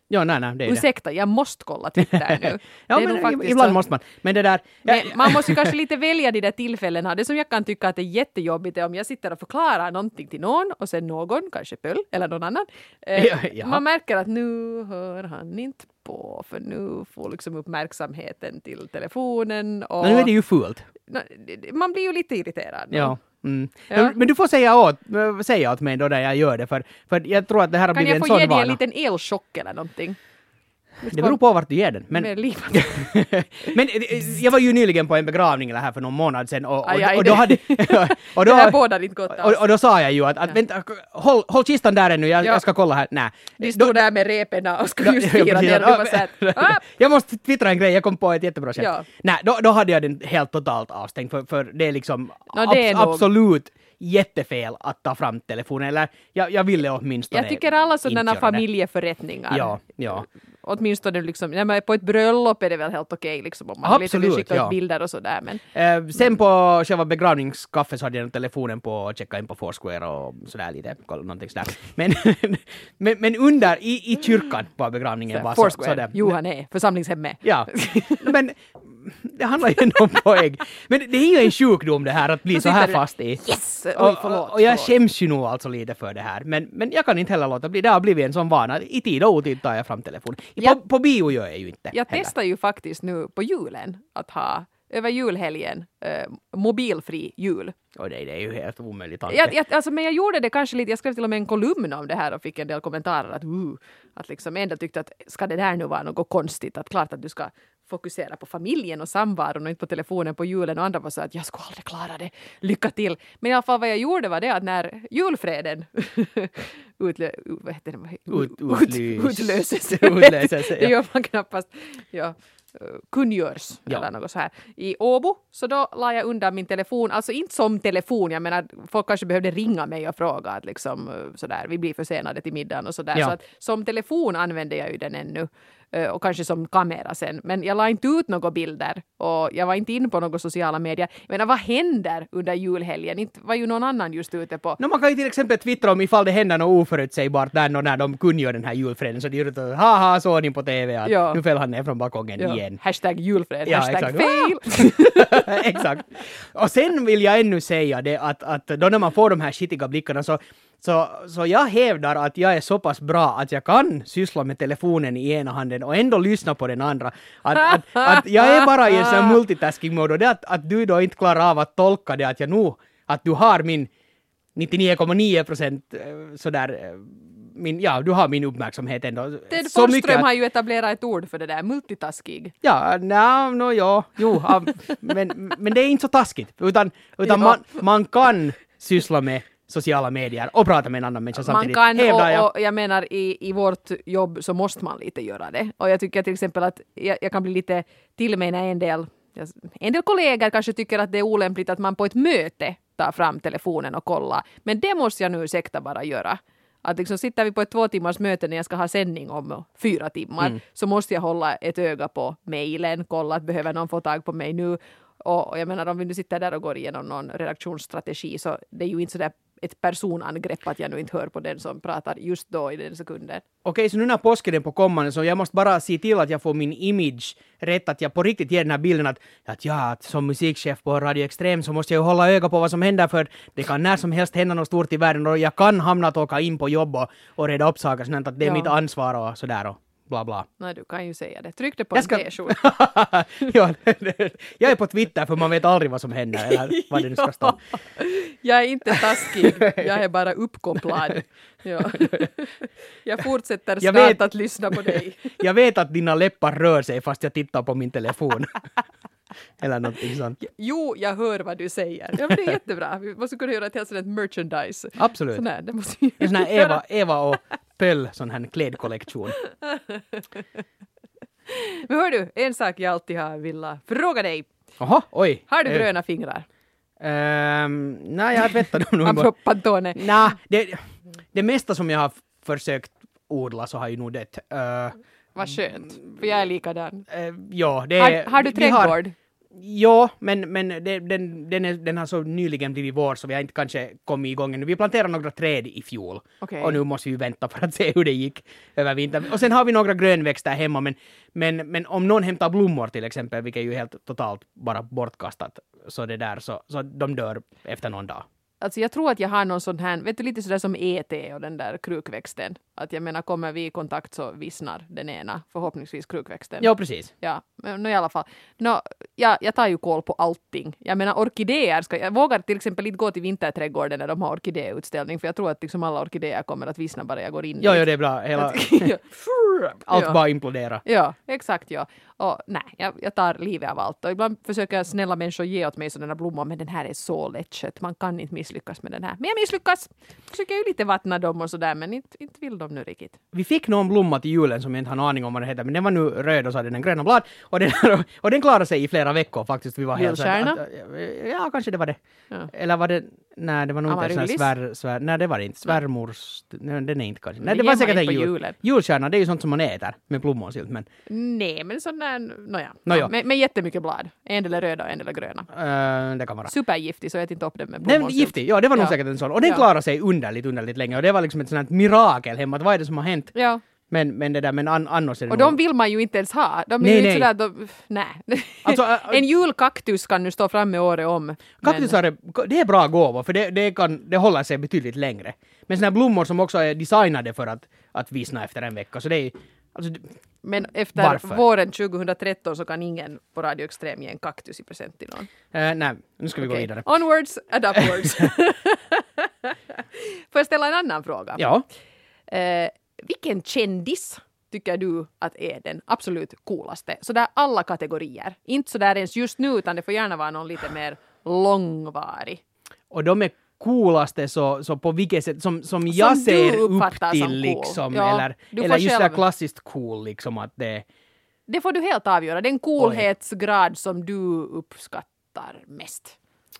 [SPEAKER 1] Ja, nej, nej, det är det.
[SPEAKER 2] Ursäkta, jag måste kolla Twitter nu.
[SPEAKER 1] Ja,
[SPEAKER 2] det är
[SPEAKER 1] men
[SPEAKER 2] nog faktiskt
[SPEAKER 1] ibland
[SPEAKER 2] så.
[SPEAKER 1] måste man. Men det där...
[SPEAKER 2] Men man måste ju kanske lite välja de där tillfällena. Det som jag kan tycka att är jättejobbigt är om jag sitter och förklarar någonting till någon och sen någon, kanske Pöll eller någon annan. Eh,
[SPEAKER 1] Ja, ja.
[SPEAKER 2] Man märker att nu hör han inte på för nu får liksom uppmärksamheten till telefonen. Och
[SPEAKER 1] Men nu är det ju fult.
[SPEAKER 2] man blir ju lite irriterad. då.
[SPEAKER 1] Ja. Mm.
[SPEAKER 2] Ja.
[SPEAKER 1] Men du får säga åt, säga åt mig då när jag gör det, för, för jag tror att det här har
[SPEAKER 2] Kan
[SPEAKER 1] blivit
[SPEAKER 2] jag
[SPEAKER 1] en
[SPEAKER 2] få
[SPEAKER 1] sån
[SPEAKER 2] ge dig
[SPEAKER 1] vana.
[SPEAKER 2] en liten elchock eller någonting?
[SPEAKER 1] Det beror på vart du ger den. Men,
[SPEAKER 2] Med livet.
[SPEAKER 1] men eh, jag var ju nyligen på en begravning här för någon månad sedan och, och,
[SPEAKER 2] Aj, aj,
[SPEAKER 1] och då
[SPEAKER 2] det-
[SPEAKER 1] hade... och,
[SPEAKER 2] Det här
[SPEAKER 1] då,
[SPEAKER 2] bådar inte gott
[SPEAKER 1] och,
[SPEAKER 2] alls.
[SPEAKER 1] och då sa jag ju att, att vänta, håll, håll kistan där ännu, jag,
[SPEAKER 2] Ja.
[SPEAKER 1] jag ska kolla här. Nej.
[SPEAKER 2] De stod där med reporna och skulle just
[SPEAKER 1] Ja,
[SPEAKER 2] fira
[SPEAKER 1] precis.
[SPEAKER 2] ner och du var såhär, ah!
[SPEAKER 1] Jag måste twittra en grej, jag kom på ett jättebra skämt.
[SPEAKER 2] Ja.
[SPEAKER 1] Nej, då, då hade jag den helt totalt avstängd, för, för det är liksom
[SPEAKER 2] Nå, det är
[SPEAKER 1] abs-
[SPEAKER 2] nog-
[SPEAKER 1] absolut jättefel att ta fram telefonen, eller jag, jag ville åtminstone
[SPEAKER 2] Jag tycker alla
[SPEAKER 1] inte
[SPEAKER 2] sådana
[SPEAKER 1] göra det.
[SPEAKER 2] familjeförrättningar.
[SPEAKER 1] Ja, ja.
[SPEAKER 2] Åtminstone liksom, när man är på ett bröllop är det väl helt okej liksom om man lite vill
[SPEAKER 1] Absolut,
[SPEAKER 2] skicka ut
[SPEAKER 1] ja.
[SPEAKER 2] bilder och sådär. Men
[SPEAKER 1] Eh, sen på själva begravningskaffet så hade jag telefonen på och checka in på Foursquare och sådär lite, kolla någonting sådär. Men, men, men under, i, i kyrkan på begravningen var så,
[SPEAKER 2] Foursquare,
[SPEAKER 1] så där.
[SPEAKER 2] Johan är församlingshemmet.
[SPEAKER 1] Ja, men det handlar ju ändå om poäng. Men det är ju en sjukdom det här att bli
[SPEAKER 2] Så
[SPEAKER 1] så här
[SPEAKER 2] sitter du-
[SPEAKER 1] fast i.
[SPEAKER 2] Yes! Oj,
[SPEAKER 1] Och,
[SPEAKER 2] förlåt.
[SPEAKER 1] och, och jag
[SPEAKER 2] förlåt.
[SPEAKER 1] skäms ju nog alltså lite för det här. Men, men jag kan inte heller låta bli. Det har blivit en sån vana. I tid och otid tar jag fram telefonen.
[SPEAKER 2] Ja.
[SPEAKER 1] På, på bio gör jag ju inte.
[SPEAKER 2] Jag
[SPEAKER 1] heller.
[SPEAKER 2] testar ju faktiskt nu på julen att ha över julhelgen eh, mobilfri jul.
[SPEAKER 1] Och det, det är ju helt omöjligt tanke.
[SPEAKER 2] Jag, jag, alltså, men jag gjorde det kanske lite, jag skrev till och med en kolumn om det här och fick en del kommentarer att, uh, att liksom en del tyckte att ska det där nu vara något konstigt, att klart att du ska fokusera på familjen och samvaron och inte på telefonen på julen, och andra var så att jag skulle aldrig klara det, lycka till. Men i alla fall vad jag gjorde var det att när julfreden utlö, vad heter det?
[SPEAKER 1] Ut-
[SPEAKER 2] Ut,
[SPEAKER 1] utlys-
[SPEAKER 2] utlöses,
[SPEAKER 1] utlöses, ja.
[SPEAKER 2] det gör man knappast, ja. kungörs
[SPEAKER 1] Ja.
[SPEAKER 2] eller något så här i Åbo, så då la jag undan min telefon, alltså inte som telefon, jag menar folk kanske behövde ringa mig och fråga att liksom sådär, vi blir försenade till middagen och sådär,
[SPEAKER 1] Ja.
[SPEAKER 2] så att som telefon använde jag ju den ännu och kanske som kamera sen, men jag la inte ut några bilder och jag var inte inne på några sociala medier. Jag menar, vad händer under julhelgen? Inte var ju någon annan just ute på.
[SPEAKER 1] No, man kan ju till exempel twittra om ifall det händer något oförutsägbart där och när de kungör den här julfreden, så de gör det haha, såg ni på T V att
[SPEAKER 2] Ja.
[SPEAKER 1] nu föll han ner från balkongen
[SPEAKER 2] Ja.
[SPEAKER 1] igen.
[SPEAKER 2] Hashtag julfred,
[SPEAKER 1] Ja,
[SPEAKER 2] hashtag
[SPEAKER 1] exakt.
[SPEAKER 2] fail.
[SPEAKER 1] Exakt. Och sen vill jag ännu säga det att, att då när man får de här skitiga blickarna så, så, så jag hävdar att jag är så pass bra att jag kan syssla med telefonen i ena handen och ändå lyssna på den andra. Att, att, att jag är bara i en sån här multitasking-mode, och det att, att du då inte klarar av att tolka det att jag nu, att du har min nittionio komma nio procent sådär, eh, min, ja, du har min uppmärksamhet ändå.
[SPEAKER 2] Ted
[SPEAKER 1] Så mycket
[SPEAKER 2] Forsström
[SPEAKER 1] att-
[SPEAKER 2] har ju etablerat ett ord för det där, multitaskig.
[SPEAKER 1] Ja, no, no, ja, jo, ja, men, men det är inte så taskigt, utan, utan
[SPEAKER 2] Ja.
[SPEAKER 1] man, man kan syssla med sociala medier och prata med en annan människa
[SPEAKER 2] Man
[SPEAKER 1] samtidigt.
[SPEAKER 2] kan,
[SPEAKER 1] hävdar jag.
[SPEAKER 2] och, och jag menar i, i vårt jobb så måste man lite göra det. Och jag tycker till exempel att jag, jag kan bli lite till mig när en del, en del kollegor kanske tycker att det är olämpligt att man på ett möte tar fram telefonen och kollar. Men det måste jag nu ursäkta bara göra. Att liksom sitter vi på ett två timmars möte när jag ska ha sändning om fyra timmar,
[SPEAKER 1] Mm.
[SPEAKER 2] så måste jag hålla ett öga på mejlen, kolla att behöver någon få tag på mig nu. Och, och jag menar, om vi nu sitter där och går igenom någon redaktionsstrategi, så det är ju inte sådär ett personangrepp att jag nu inte hör på den som pratar just då i den sekunden.
[SPEAKER 1] Okej, så nu när påsken är på kommande så jag måste bara se till att jag får min image rätt, att jag på riktigt ger den här bilden att, att ja, att som musikchef på Radio Extrem så måste jag ju hålla öga på vad som händer, för det kan när som helst hända något stort i världen och jag kan hamna att åka in på jobb och, och reda upp saker, sånt att det är
[SPEAKER 2] Ja.
[SPEAKER 1] mitt ansvar och sådär och bla bla.
[SPEAKER 2] Nej, du kan ju säga det. Tryck det på
[SPEAKER 1] Jag
[SPEAKER 2] en
[SPEAKER 1] ska-
[SPEAKER 2] t-skjorta.
[SPEAKER 1] Ja, jag är på Twitter för man vet aldrig vad som händer eller vad det nu ska stå.
[SPEAKER 2] Jag är inte taskig, jag är bara uppkopplad. Ja. Jag fortsätter
[SPEAKER 1] Jag
[SPEAKER 2] snart
[SPEAKER 1] vet-
[SPEAKER 2] att lyssna på dig.
[SPEAKER 1] Jag vet att dina läppar rör sig fast jag tittar på min telefon. Eller någonting sånt.
[SPEAKER 2] Jo, jag hör vad du säger. Ja, men det är jättebra. Vi måste kunna göra ett helt sådant merchandise.
[SPEAKER 1] Absolut.
[SPEAKER 2] Sån här, det måste vi
[SPEAKER 1] En sån här
[SPEAKER 2] göra.
[SPEAKER 1] Eva, Eva och Pöll sån här klädkollektion.
[SPEAKER 2] Men hör du, en sak jag alltid har velat fråga dig.
[SPEAKER 1] Jaha, oj.
[SPEAKER 2] Har du
[SPEAKER 1] Eh,
[SPEAKER 2] gröna fingrar?
[SPEAKER 1] ehm, nej, jag har tvättat dem nog.
[SPEAKER 2] Apropå Pantone.
[SPEAKER 1] Nej, det, det mesta som jag har försökt odla så har ju nog dött. Uh,
[SPEAKER 2] Vad skönt, för jag är likadan.
[SPEAKER 1] uh, ja, det
[SPEAKER 2] Har, har du
[SPEAKER 1] vi har-
[SPEAKER 2] trädgård?
[SPEAKER 1] Ja, men, men det, den, den, är, den har så nyligen blivit vår så vi har inte kanske kommit igång ännu. Vi planterade några träd i fjol.
[SPEAKER 2] Okay.
[SPEAKER 1] Och nu måste vi vänta för att se hur det gick över vintern. Och sen har vi några grönväxter hemma, men, men, men om någon hämtar blommor till exempel, vilket är ju helt totalt bara bortkastat, så det där, så, så de dör efter någon dag.
[SPEAKER 2] Alltså jag tror att jag har någon sån här, vet du, lite sådär som E T och den där krukväxten. Att jag menar, kommer vi i kontakt så vissnar den ena, förhoppningsvis krukväxten.
[SPEAKER 1] Ja, precis.
[SPEAKER 2] Ja, men i alla fall. No, ja, jag tar ju koll på allting. Jag menar, orkidéer, ska, jag vågar till exempel inte gå till vinterträdgården när de har orkidéutställning, för jag tror att liksom alla orkidéer kommer att vissna bara jag går in.
[SPEAKER 1] Ja, ja, det är bra. Hela... Allt
[SPEAKER 2] ja.
[SPEAKER 1] bara implodera.
[SPEAKER 2] Ja, exakt, ja. Och nej, jag, jag tar livet av allt. Och ibland försöker snälla människor ge åt mig sådana blommor, men den här är så lättköpt. Man kan inte misslyckas med den här. Men jag misslyckas! Försöker ju lite vattna dem och sådär, men inte, inte vill de nu riktigt.
[SPEAKER 1] Vi fick någon blomma till julen som jag inte har någon aning om vad det heter, men den var nu röd och så hade den gröna blad. Och den, och den klarade sig i flera veckor faktiskt. Vi var helt
[SPEAKER 2] Julstjärna?
[SPEAKER 1] att, ja, kanske det var det.
[SPEAKER 2] Ja.
[SPEAKER 1] Eller var det... Nej, det var nog inte en
[SPEAKER 2] Amaryllis?
[SPEAKER 1] svär, svär... Nej, det var det inte. Svärmors... Nej, den är inte kanske. Nej,
[SPEAKER 2] Men
[SPEAKER 1] det var
[SPEAKER 2] ger man
[SPEAKER 1] säkert en
[SPEAKER 2] inte på
[SPEAKER 1] jul.
[SPEAKER 2] julen.
[SPEAKER 1] Julstjärna, det är ju sånt som man äter med plommonsylt, men...
[SPEAKER 2] Nej, men sån där, nåja.
[SPEAKER 1] Nåja.
[SPEAKER 2] Ja, med, med jättemycket blad. En del är röda och en del är gröna.
[SPEAKER 1] Uh, det kan vara.
[SPEAKER 2] Supergiftig, så ät inte upp den med
[SPEAKER 1] Den
[SPEAKER 2] plommonsylt.
[SPEAKER 1] giftig, ja, det var nog
[SPEAKER 2] Ja.
[SPEAKER 1] säkert en sån. Och den
[SPEAKER 2] Ja.
[SPEAKER 1] klarade sig underligt, underligt länge. Och det var liksom ett sånt här mirakel hemma. Att vad är det som har hänt?
[SPEAKER 2] Ja.
[SPEAKER 1] Men, men det där, men an, annars är det
[SPEAKER 2] Och
[SPEAKER 1] nog...
[SPEAKER 2] de vill man ju inte ens ha. De är
[SPEAKER 1] Nej,
[SPEAKER 2] ju inte
[SPEAKER 1] nej.
[SPEAKER 2] sådär, de, nej.
[SPEAKER 1] Alltså, ä-
[SPEAKER 2] en julkaktus kan nu stå framme året om.
[SPEAKER 1] Kaktusar är, det är bra gåvor, för det, det, kan, det håller sig betydligt längre. Men såna här blommor som också är designade för att, att vissna efter en vecka, så det är... Alltså, det-
[SPEAKER 2] Men efter
[SPEAKER 1] Varför?
[SPEAKER 2] våren tjugotretton så kan ingen på Radio Extrem ge en kaktus i present till någon.
[SPEAKER 1] eh, nej, nu ska vi gå
[SPEAKER 2] Okej.
[SPEAKER 1] vidare.
[SPEAKER 2] Onwards and upwards. Får jag ställa en annan fråga?
[SPEAKER 1] Ja.
[SPEAKER 2] Eh, vilken kändis tycker du att är den absolut coolaste? Så där alla kategorier. Inte så där ens just nu, utan det får gärna vara någon lite mer långvarig.
[SPEAKER 1] Och de är coolaste så, så på vilket sätt, som, som jag
[SPEAKER 2] du
[SPEAKER 1] ser upp
[SPEAKER 2] uppfattar som
[SPEAKER 1] till
[SPEAKER 2] cool.
[SPEAKER 1] liksom,
[SPEAKER 2] Ja,
[SPEAKER 1] eller,
[SPEAKER 2] du får
[SPEAKER 1] eller just
[SPEAKER 2] själv-
[SPEAKER 1] där klassiskt cool liksom att det...
[SPEAKER 2] Det får du helt avgöra. Den coolhetsgrad som du uppskattar mest.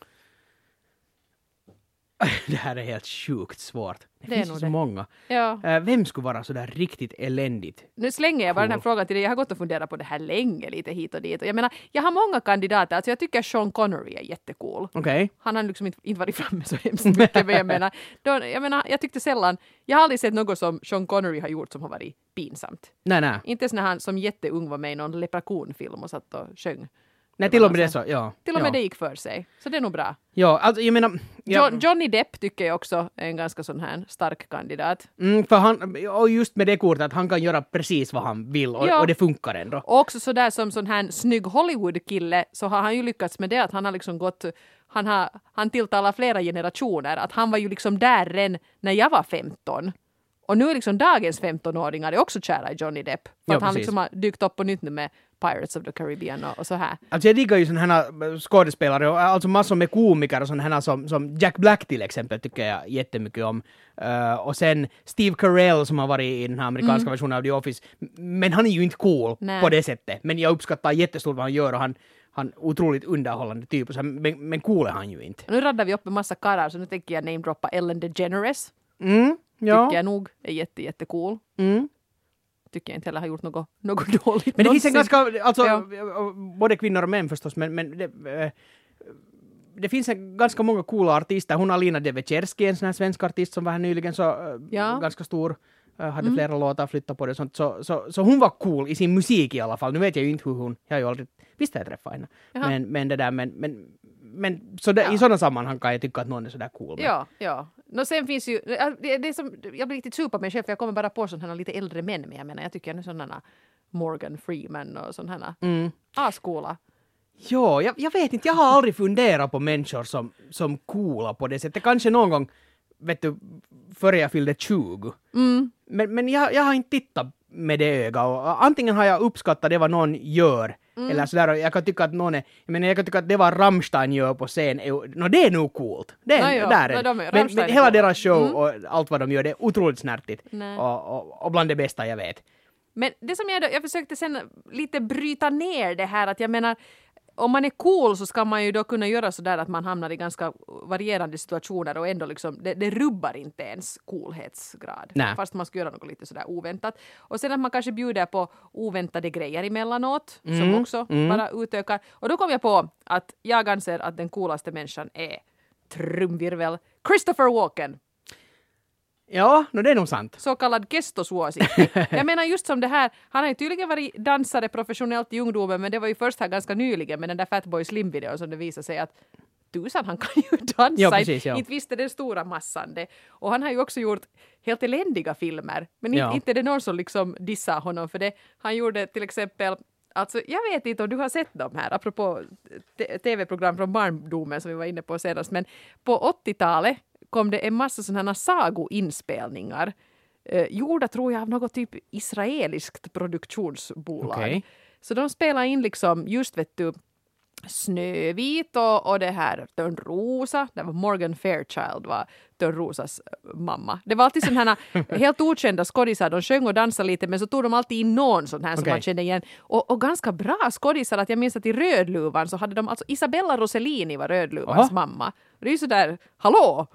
[SPEAKER 1] Det här är helt sjukt svårt. Det,
[SPEAKER 2] Det är
[SPEAKER 1] finns
[SPEAKER 2] nog
[SPEAKER 1] ju så
[SPEAKER 2] det.
[SPEAKER 1] många.
[SPEAKER 2] Ja.
[SPEAKER 1] Eh, vem skulle vara så där riktigt eländigt?
[SPEAKER 2] Nu slänger jag bara
[SPEAKER 1] Cool.
[SPEAKER 2] den här frågan till dig. Jag har gått och funderat på det här länge, lite hit och dit. Och jag menar, jag har många kandidater. Alltså jag tycker Sean Connery är jättecool.
[SPEAKER 1] Okej.
[SPEAKER 2] Han har liksom inte, inte varit framme så hemskt mycket, men jag menar, då, jag menar, jag tyckte sällan, jag har aldrig sett något som Sean Connery har gjort som har varit pinsamt.
[SPEAKER 1] Nej, nej.
[SPEAKER 2] Inte ens när han som jätteung var med i någon leprechaun-film och satt och sjöng.
[SPEAKER 1] Nej, till och med det så, ja.
[SPEAKER 2] Till och
[SPEAKER 1] ja.
[SPEAKER 2] med det gick för sig. Så det är nog bra.
[SPEAKER 1] Ja, alltså jag menar... Ja,
[SPEAKER 2] Jo- Johnny Depp tycker jag också är en ganska sån här stark kandidat.
[SPEAKER 1] mm, för han, och just med det kortet att han kan göra precis vad han vill och,
[SPEAKER 2] Ja.
[SPEAKER 1] och det funkar ändå.
[SPEAKER 2] Och också sådär som sån här snygg Hollywood-kille så har han ju lyckats med det att han har liksom gått, han har, han tilltalar flera generationer, att han var ju liksom där redan när jag var femton. Och nu är liksom dagens femtonåringar är också kära i Johnny Depp. För
[SPEAKER 1] Ja,
[SPEAKER 2] att han
[SPEAKER 1] precis.
[SPEAKER 2] liksom har dykt upp på nytt nu med Pirates of the Caribbean och, och så här.
[SPEAKER 1] Alltså jag diggar ju sådana här skådespelare och alltså massor med komiker och sådana här som, som Jack Black till exempel tycker jag jättemycket om. Uh, och sen Steve Carell som har varit i den här amerikanska
[SPEAKER 2] Mm.
[SPEAKER 1] versionen av The Office. Men han är ju inte cool
[SPEAKER 2] Nej.
[SPEAKER 1] på det sättet. Men jag uppskattar jättestort vad han gör och han, han är otroligt underhållande typ. Och så, men, men cool är han ju inte.
[SPEAKER 2] Och nu raddar vi upp en massa karlar så nu tänker jag namedroppa Ellen DeGeneres.
[SPEAKER 1] Mm, ja.
[SPEAKER 2] Tycker jag nog är jätte, jättecool.
[SPEAKER 1] Mm.
[SPEAKER 2] Tycker jag inte heller har gjort något, något dåligt.
[SPEAKER 1] Men det finns en
[SPEAKER 2] någonsin.
[SPEAKER 1] ganska, alltså
[SPEAKER 2] Ja.
[SPEAKER 1] både kvinnor och män förstås, men, men det, eh, det finns en, ganska många coola artister. Hon Alina Devecherski, en sån här svensk artist som var här nyligen, så eh,
[SPEAKER 2] Ja.
[SPEAKER 1] ganska stor, eh, hade flera låtar, flyttat på det och sånt. Så, så, så hon var cool i sin musik i alla fall. Nu vet jag ju inte hur hon, jag har ju aldrig, visst har jag träffat henne.
[SPEAKER 2] Jaha.
[SPEAKER 1] Men, men det där, men, men, men så det,
[SPEAKER 2] Ja.
[SPEAKER 1] i sådana sammanhang kan jag tycka att någon är sådär cool. Men,
[SPEAKER 2] Ja, ja. No, sen finns ju, det, det är som, jag blir riktigt sur på mig själv för jag kommer bara på sådana här lite äldre män, men jag menar jag tycker nu sådana Morgan Freeman och sådana här
[SPEAKER 1] Mm.
[SPEAKER 2] ascoola.
[SPEAKER 1] Jo, jag, jag vet inte, jag har aldrig funderat på människor som, som coola på det sättet. Kanske någon gång, vet du, före jag fyllde tjugo.
[SPEAKER 2] Mm.
[SPEAKER 1] Men, men jag, jag har inte tittat med det ögat. Och antingen har jag uppskattat det vad någon gör,
[SPEAKER 2] Mm.
[SPEAKER 1] eller sådär, och jag kan tycka att någon är, jag menar jag kan tycka att det vad Rammstein gör på scen, är, no, det är nog coolt. Det är,
[SPEAKER 2] Ja, ja.
[SPEAKER 1] där är
[SPEAKER 2] Ja,
[SPEAKER 1] det.
[SPEAKER 2] de är-
[SPEAKER 1] men,
[SPEAKER 2] Rammstein
[SPEAKER 1] men
[SPEAKER 2] är
[SPEAKER 1] hela
[SPEAKER 2] coola.
[SPEAKER 1] deras show
[SPEAKER 2] Mm.
[SPEAKER 1] och allt vad de gör, det är otroligt snärtigt.
[SPEAKER 2] Nej.
[SPEAKER 1] Och, och, och bland det bästa jag vet.
[SPEAKER 2] Men det som jag, då, jag försökte sen lite bryta ner det här att jag menar om man är cool så ska man ju då kunna göra så där att man hamnar i ganska varierande situationer och ändå liksom, det, det rubbar inte ens coolhetsgrad.
[SPEAKER 1] Nej.
[SPEAKER 2] Fast man ska göra något lite sådär oväntat. Och sen att man kanske bjuder på oväntade grejer emellanåt
[SPEAKER 1] Mm,
[SPEAKER 2] som också
[SPEAKER 1] mm.
[SPEAKER 2] bara utökar. Och då kom jag på att jag anser att den coolaste människan är trumvirvel Christopher Walken.
[SPEAKER 1] Ja, no, det är nog sant.
[SPEAKER 2] Så kallad kestosuosi. Jag menar just som det här, han har ju tydligen varit dansare professionellt i ungdomen, men det var ju först här ganska nyligen med den där Fatboy Slim-videon som det visade sig att tusan, han kan ju dansa.
[SPEAKER 1] Ja, precis, ja.
[SPEAKER 2] Inte visste den stora massan det. Och han har ju också gjort helt eländiga filmer, men
[SPEAKER 1] Ja.
[SPEAKER 2] inte, inte är det någon som liksom dissar honom för det. Han gjorde till exempel, alltså jag vet inte om du har sett dem här, apropå t- tv-program från barndomen som vi var inne på senast, men på åttiotalet kom det en massa sådana sagoinspelningar eh, gjorda tror jag av något typ israeliskt produktionsbolag.
[SPEAKER 1] Okej.
[SPEAKER 2] Så de spelar in liksom just vet du Snövit och, och det här Törnrosa, det var Morgan Fairchild var Törnrosas mamma. Det var alltid sådana här helt okända skådisar, de sjöng och dansade lite men så tog de alltid in någon sån här som
[SPEAKER 1] Okej.
[SPEAKER 2] man kände igen. Och, och ganska bra skådisar, att jag minns att i Rödluvan så hade de alltså Isabella Rossellini var Rödluvans
[SPEAKER 1] Aha.
[SPEAKER 2] mamma. Och det är ju sådär, hallå!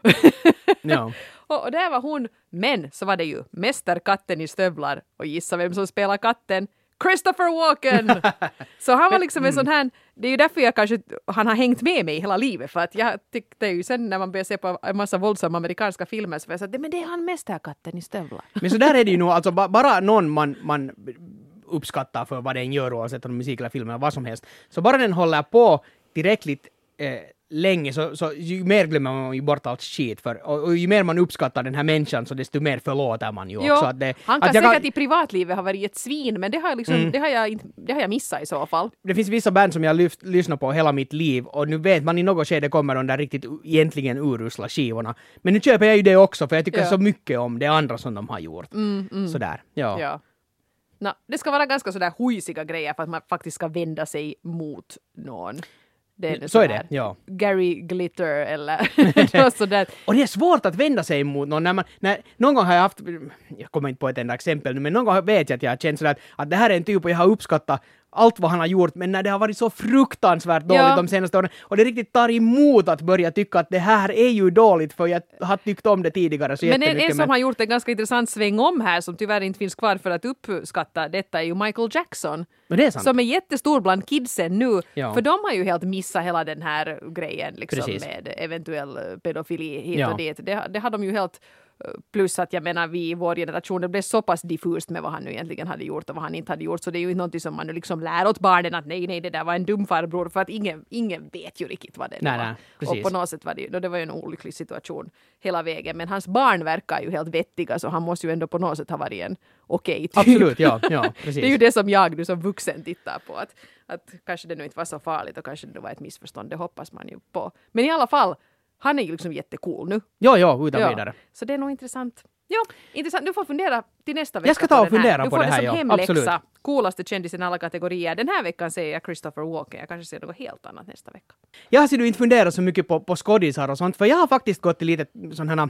[SPEAKER 1] Ja.
[SPEAKER 2] och, och där var hon, men så var det ju mästerkatten i stövlar och gissa vem som spelar katten? Christopher Walken! Så han var liksom en sån här, det är ju därför jag kanske, han har hängt med mig hela livet, för att jag tyckte ju sen när man började se på en massa våldsamma amerikanska filmer så var jag så att men det är han mästerkatten i stövlar.
[SPEAKER 1] Men så där är det ju nog, alltså ba- bara någon man, man uppskattar för vad den gör, oavsett om musik eller film eller vad som helst. Så bara den håller på tillräckligt eh, länge så, så ju mer glömmer man ju bort allt skit för, och, och ju mer man uppskattar den här människan så desto mer förlåter man ju
[SPEAKER 2] Jo,
[SPEAKER 1] också. Att det,
[SPEAKER 2] han kan
[SPEAKER 1] att jag
[SPEAKER 2] säkert i privatlivet ha varit ett svin, men det har jag, liksom,
[SPEAKER 1] Mm.
[SPEAKER 2] det har jag, inte, det har jag missat i så fall.
[SPEAKER 1] Det finns vissa band som jag lyft, lyssnar på hela mitt liv och nu vet man i något skede kommer de där riktigt u- egentligen urusla skivorna. Men nu köper jag ju det också för jag tycker
[SPEAKER 2] Ja.
[SPEAKER 1] så mycket om det andra som de har gjort.
[SPEAKER 2] Mm, mm.
[SPEAKER 1] Sådär, ja.
[SPEAKER 2] Ja. Nå, det ska vara ganska sådär huisiga grejer för att man faktiskt ska vända sig mot någon. Det är
[SPEAKER 1] Så är
[SPEAKER 2] sådär
[SPEAKER 1] det, ja.
[SPEAKER 2] Gary Glitter eller något sådär.
[SPEAKER 1] Och det är svårt att vända sig mot någon. När man, när, någon gång har jag haft, jag kommer inte på ett enda exempel nu, men någon gång vet jag att jag har känt sådär att, att det här är en typ och jag har uppskattat allt vad han har gjort, men när det har varit så fruktansvärt dåligt
[SPEAKER 2] Ja.
[SPEAKER 1] de senaste åren, och det riktigt tar emot att börja tycka att det här är ju dåligt, för jag har tyckt om det tidigare så
[SPEAKER 2] Men en,
[SPEAKER 1] jättemycket.
[SPEAKER 2] en som har gjort en ganska intressant sväng om här som tyvärr inte finns kvar för att uppskatta detta är ju Michael Jackson.
[SPEAKER 1] men det är sant.
[SPEAKER 2] Som är jättestor bland kidsen nu.
[SPEAKER 1] Ja.
[SPEAKER 2] För de har ju helt missat hela den här grejen liksom,
[SPEAKER 1] Precis.
[SPEAKER 2] med eventuell pedofili hit
[SPEAKER 1] Ja.
[SPEAKER 2] och dit. Det, det har de ju helt... Plus att jag menar vi i vår generation, det blev så pass diffust med vad han nu egentligen hade gjort och vad han inte hade gjort. Så det är ju inte någonting som man nu liksom lär åt barnen att nej, nej, det där var en dum farbror. För att ingen, ingen vet ju riktigt vad det
[SPEAKER 1] Nej,
[SPEAKER 2] var.
[SPEAKER 1] nej, precis.
[SPEAKER 2] Och på något sätt var det ju, det var ju en olycklig situation hela vägen. Men hans barn verkar ju helt vettiga så han måste ju ändå på något sätt ha varit en okej typ.
[SPEAKER 1] Absolut, ja, ja, precis.
[SPEAKER 2] Det är ju det som jag nu som vuxen tittar på. Att, att kanske det nu inte var så farligt och kanske det var ett missförstånd. Det hoppas man ju på. Men i alla fall, han är ju liksom jättecool nu.
[SPEAKER 1] Ja, ja, utan vidare.
[SPEAKER 2] Så det är nog intressant. Ja, intressant. Du får fundera till nästa vecka.
[SPEAKER 1] Jag ska ta
[SPEAKER 2] på
[SPEAKER 1] och
[SPEAKER 2] den här.
[SPEAKER 1] fundera
[SPEAKER 2] du
[SPEAKER 1] på
[SPEAKER 2] får
[SPEAKER 1] det här,
[SPEAKER 2] som
[SPEAKER 1] ja.
[SPEAKER 2] hemläxa.
[SPEAKER 1] Absolut.
[SPEAKER 2] Coolaste kändisen i alla kategorier. Den här veckan säger jag Christopher Walken. Jag kanske ser något helt annat nästa vecka.
[SPEAKER 1] Jag har ser du inte funderat så mycket på, på skådisar och sånt, för jag har faktiskt gått till lite sådana,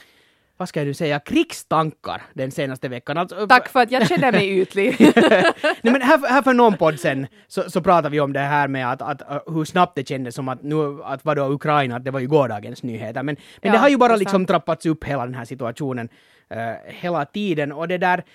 [SPEAKER 1] vad ska du säga, krigstankar den senaste veckan. Alltså,
[SPEAKER 2] Tack för att jag känner mig ytlig.
[SPEAKER 1] Nej, men här, här för någon podd sen så, så pratade vi om det här med att, att, uh, hur snabbt det kändes som att nu, att vadå Ukraina, att det var ju gårdagens nyheter. Men, men
[SPEAKER 2] Ja,
[SPEAKER 1] det har ju
[SPEAKER 2] det
[SPEAKER 1] bara
[SPEAKER 2] är
[SPEAKER 1] liksom
[SPEAKER 2] sant.
[SPEAKER 1] trappats upp hela den här situationen uh, hela tiden. Och det där,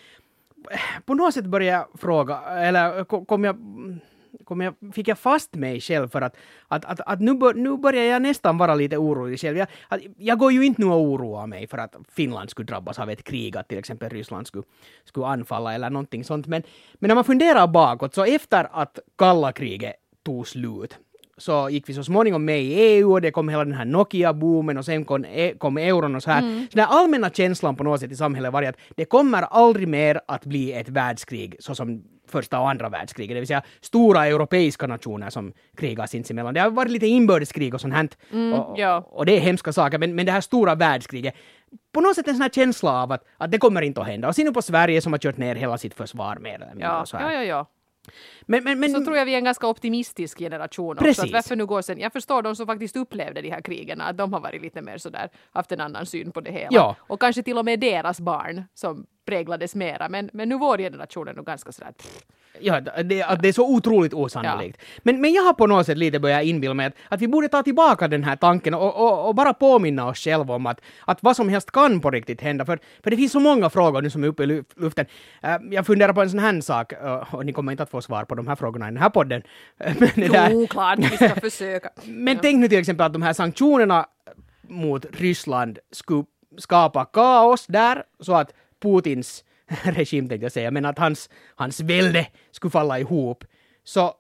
[SPEAKER 1] på något sätt började jag fråga, eller ko- kom jag... Kom jag, fick jag fast mig själv för att, att, att, att nu, bör, nu börjar jag nästan vara lite orolig själv. Jag, att, jag går ju inte nu och oroa mig för att Finland skulle drabbas av ett krig, att till exempel Ryssland skulle, skulle anfalla eller någonting sånt. Men, men när man funderar bakåt, så efter att kalla kriget tog slut så gick vi så småningom med i E U och det kom hela den här Nokia-boomen och sen kom, e- kom euron och så här.
[SPEAKER 2] Mm.
[SPEAKER 1] Så den här allmänna känslan på något sätt i samhället var att det kommer aldrig mer att bli ett världskrig så som första och andra världskriget, det vill säga stora europeiska nationer som krigar sinsemellan. Det har varit lite inbördeskrig och sånt här.
[SPEAKER 2] Mm,
[SPEAKER 1] och,
[SPEAKER 2] ja.
[SPEAKER 1] och det är hemska saker, men, men det här stora världskriget, på något sätt en sån här känsla av att, att det kommer inte att hända. Och sen nu på Sverige som har kört ner hela sitt försvar mer eller mindre.
[SPEAKER 2] Ja,
[SPEAKER 1] och så här.
[SPEAKER 2] ja, ja, ja.
[SPEAKER 1] Men, men, men,
[SPEAKER 2] Så tror jag vi är en ganska optimistisk generation också.
[SPEAKER 1] Precis.
[SPEAKER 2] Att varför nu går sen, jag förstår de som faktiskt upplevde de här krigen, att de har varit lite mer sådär, haft en annan syn på det hela.
[SPEAKER 1] Ja.
[SPEAKER 2] Och kanske till och med deras barn som präglades mera. Men, men nu vår generation är nog ganska sådär, pff,
[SPEAKER 1] Ja, det, att det är så otroligt osannolikt. Ja. Men, men jag har på något sätt lite börjat inbilla mig att, att vi borde ta tillbaka den här tanken och, och, och bara påminna oss själva om att, att vad som helst kan på riktigt hända. För, för det finns så många frågor nu som är uppe i luften. Uh, jag funderar på en sån här sak, uh, och ni kommer inte att få svar på de här frågorna i den här podden. men
[SPEAKER 2] jo, där... klart, vi ska försöka.
[SPEAKER 1] men ja. Tänk nu till exempel att de här sanktionerna mot Ryssland skulle skapa kaos där, så att Putins regim, tänkte jag säga, men att hans, hans välde skulle falla ihop. Så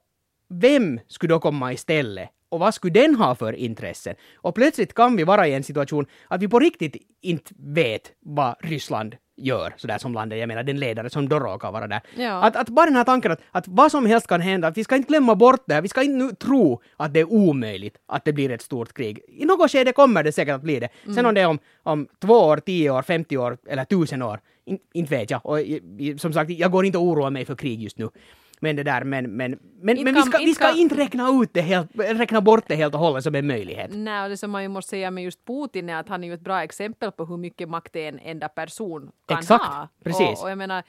[SPEAKER 1] vem skulle då komma istället? Och vad skulle den ha för intressen? Och plötsligt kan vi vara i en situation att vi på riktigt inte vet vad Ryssland gör, sådär som landet, jag menar den ledare som då råkar vara där. Ja. Att, att bara den här tanken att, att vad som helst kan hända, att vi ska inte glömma bort det här, vi ska inte nu tro att det är omöjligt att det blir ett stort krig. I något skede kommer det säkert att bli det. Mm. Sen om det är om, om två år, tio år, femtio år eller tusen år, in, inte vet jag. Och som sagt, jag går inte att oroa mig för krig just nu. Men det där, men, men, men, men vi ska, vi ska inte räkna ut det helt, räkna bort det helt och hållet som en möjlighet.
[SPEAKER 2] Nej, och det som man ju måste säga med just Putin är att han är ju ett bra exempel på hur mycket makt en enda person kan
[SPEAKER 1] Exakt,
[SPEAKER 2] ha.
[SPEAKER 1] Precis.
[SPEAKER 2] Och, och jag menar...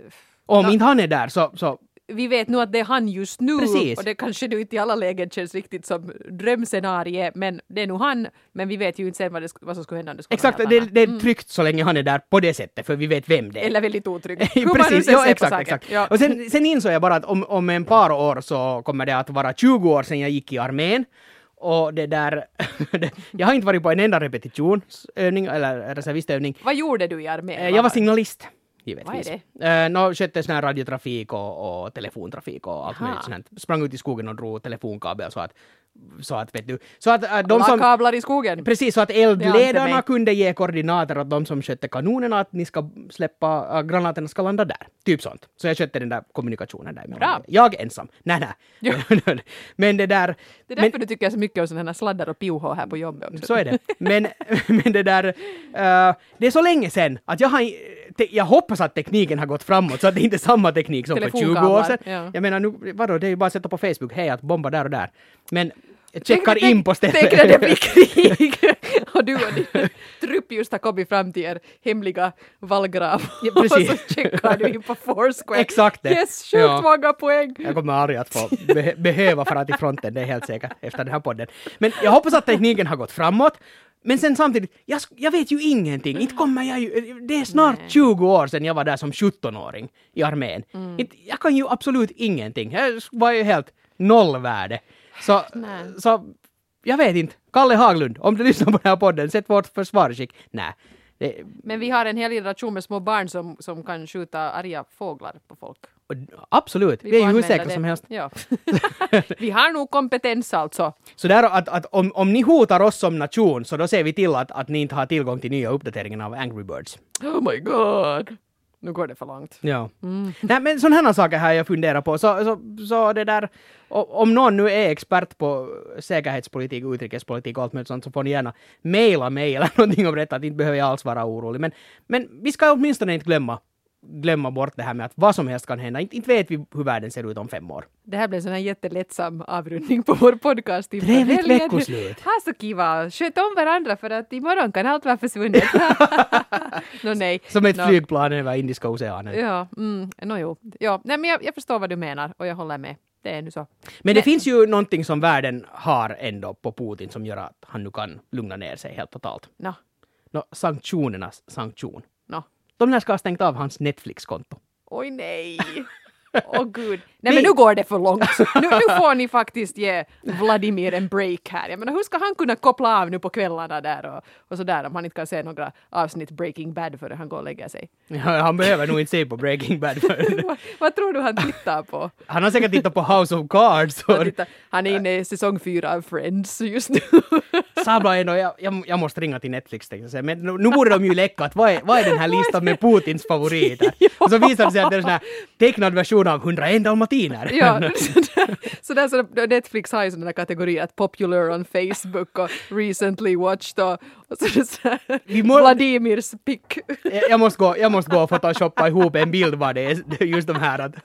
[SPEAKER 1] Om
[SPEAKER 2] då,
[SPEAKER 1] inte han är där så... så
[SPEAKER 2] vi vet nu att det är han just nu.
[SPEAKER 1] Precis.
[SPEAKER 2] Och det kanske nu inte i alla lägen känns riktigt som drömscenarie, men det är nog han, men vi vet ju inte sen vad, det, vad som skulle hända om det skulle
[SPEAKER 1] exakt, det, det är tryggt så länge han är där på det sättet, för vi vet vem det är.
[SPEAKER 2] Eller väldigt otryggt.
[SPEAKER 1] Precis, ja, exakt, exakt. Ja. Och sen, sen insåg jag bara att om, om en par år så kommer det att vara tjugo år sedan jag gick i armén. Och det där, jag har inte varit på en enda repetitionsövning eller reservistövning.
[SPEAKER 2] Vad gjorde du i armén?
[SPEAKER 1] Jag var signalist. Givetvis.
[SPEAKER 2] Vad är
[SPEAKER 1] det? Uh, no, skötte sån här radiotrafik och, och telefontrafik och allt möjligt sånt. Sprang ut i skogen och drog telefonkabel så att, så att vet du, så att uh, de som...
[SPEAKER 2] kablar i skogen.
[SPEAKER 1] Precis, så att eldledarna kunde ge koordinater åt de som skötte kanonerna att ni ska släppa, uh, granaterna ska landa där. Typ sånt. Så jag skötte den där kommunikationen där.
[SPEAKER 2] Bra.
[SPEAKER 1] Jag ensam. Nej, nej. Men det där...
[SPEAKER 2] Det är därför men, du tycker så mycket om sådana här sladdar och piohå här på jobbet också.
[SPEAKER 1] Så är det. Men, men det där... Uh, det är så länge sedan att jag har... Te, jag hoppas att tekniken har gått framåt så att det inte är samma teknik som för tjugo år sedan. Ja. Jag menar, nu, vadå, det är ju bara att sätta på Facebook, hej att bomba där och där. Men jag checkar tänk, in på stället.
[SPEAKER 2] Tänk när det blir krig och du och din trupp just har kommit fram till er hemliga vallgrav. Ja, och så checkar du in på Foursquare.
[SPEAKER 1] Exakt det.
[SPEAKER 2] Yes, sjukt ja. många poäng.
[SPEAKER 1] Jag kommer aldrig att få be- behöva fara till fronten, det är helt säkert efter den här podden. Men jag hoppas att tekniken har gått framåt. Men sen samtidigt, jag, jag vet ju ingenting. Inte kommer jag ju, det är snart Nej. tjugo år sedan jag var där som sjuttonåring i armén. Mm. Inte, jag kan ju absolut ingenting. Jag var ju helt nollvärde. Så, så jag vet inte. Kalle Haglund, om du lyssnar på den här podden, sätt vårt försvarsskick. Nej. Det...
[SPEAKER 2] Men vi har en hel generation med små barn som, som kan skjuta arga fåglar på folk.
[SPEAKER 1] Absolut, vi, vi är ju hur säkra som helst.
[SPEAKER 2] Ja. Vi har nog kompetens alltså.
[SPEAKER 1] Så där att, att om, om ni hotar oss som nation så då ser vi till att, att ni inte har tillgång till nya uppdateringar av Angry Birds.
[SPEAKER 2] Oh my god. Nu går det för långt.
[SPEAKER 1] Ja. Mm. Nej, men sådana här saker här jag funderar på. Så, så, så det där, om någon nu är expert på säkerhetspolitik, utrikespolitik och allt möjligt sånt så får ni gärna mejla mig eller någonting om detta. Att inte behöver jag alls vara orolig. Men, men vi ska åtminstone inte glömma glömma bort det här med att vad som helst kan hända. Inte, inte vet vi hur världen ser ut om fem år.
[SPEAKER 2] Det här blev en sån här jättelättsam avrundning på vår podcast.
[SPEAKER 1] Trevligt veckoslut.
[SPEAKER 2] Ha så kiva. Sköt om varandra för att imorgon kan allt vara försvunnet. no, nej.
[SPEAKER 1] Som ett
[SPEAKER 2] no.
[SPEAKER 1] flygplan över Indiska oceanen.
[SPEAKER 2] Ja, mm, no, jo. Ja, nej, men jag, jag förstår vad du menar och jag håller med. Det är nu så.
[SPEAKER 1] Men, men det finns ju någonting som världen har ändå på Putin som gör att han nu kan lugna ner sig helt totalt.
[SPEAKER 2] No.
[SPEAKER 1] No, sanktionernas sanktion.
[SPEAKER 2] No.
[SPEAKER 1] De där ska ha stängt av hans Netflix-konto.
[SPEAKER 2] Oj nej. Åh oh, gud. Nej men nu går det för långt. Nu, nu får ni faktiskt ge Vladimir en break här. Jag menar, hur ska han kunna koppla av nu på kvällarna där och, och sådär om han inte kan se några avsnitt Breaking Bad före han går och lägger sig?
[SPEAKER 1] Ja, han behöver nog inte se på Breaking Bad.
[SPEAKER 2] vad, vad tror du han tittar på?
[SPEAKER 1] Han har säkert tittat på House of Cards.
[SPEAKER 2] Han, tittar, han är inne i säsong fyra av Friends just nu.
[SPEAKER 1] Sabla ändå, jag, jag, jag måste ringa till Netflix tänkte jag säga. Men nu, nu borde de ju läcka att vad är, vad är den här listan med Putins favoriter? Och så visar det sig att det är en sån här tecknad version av hundraen dalmatiner.
[SPEAKER 2] Ja, så där så Netflix har ju sådana kategorier att popular on Facebook och recently watched och, och så, så här, må, Vladimirs pick.
[SPEAKER 1] Jag, jag, måste gå, jag måste gå och photoshoppa ihop en bild vad det är just de här att,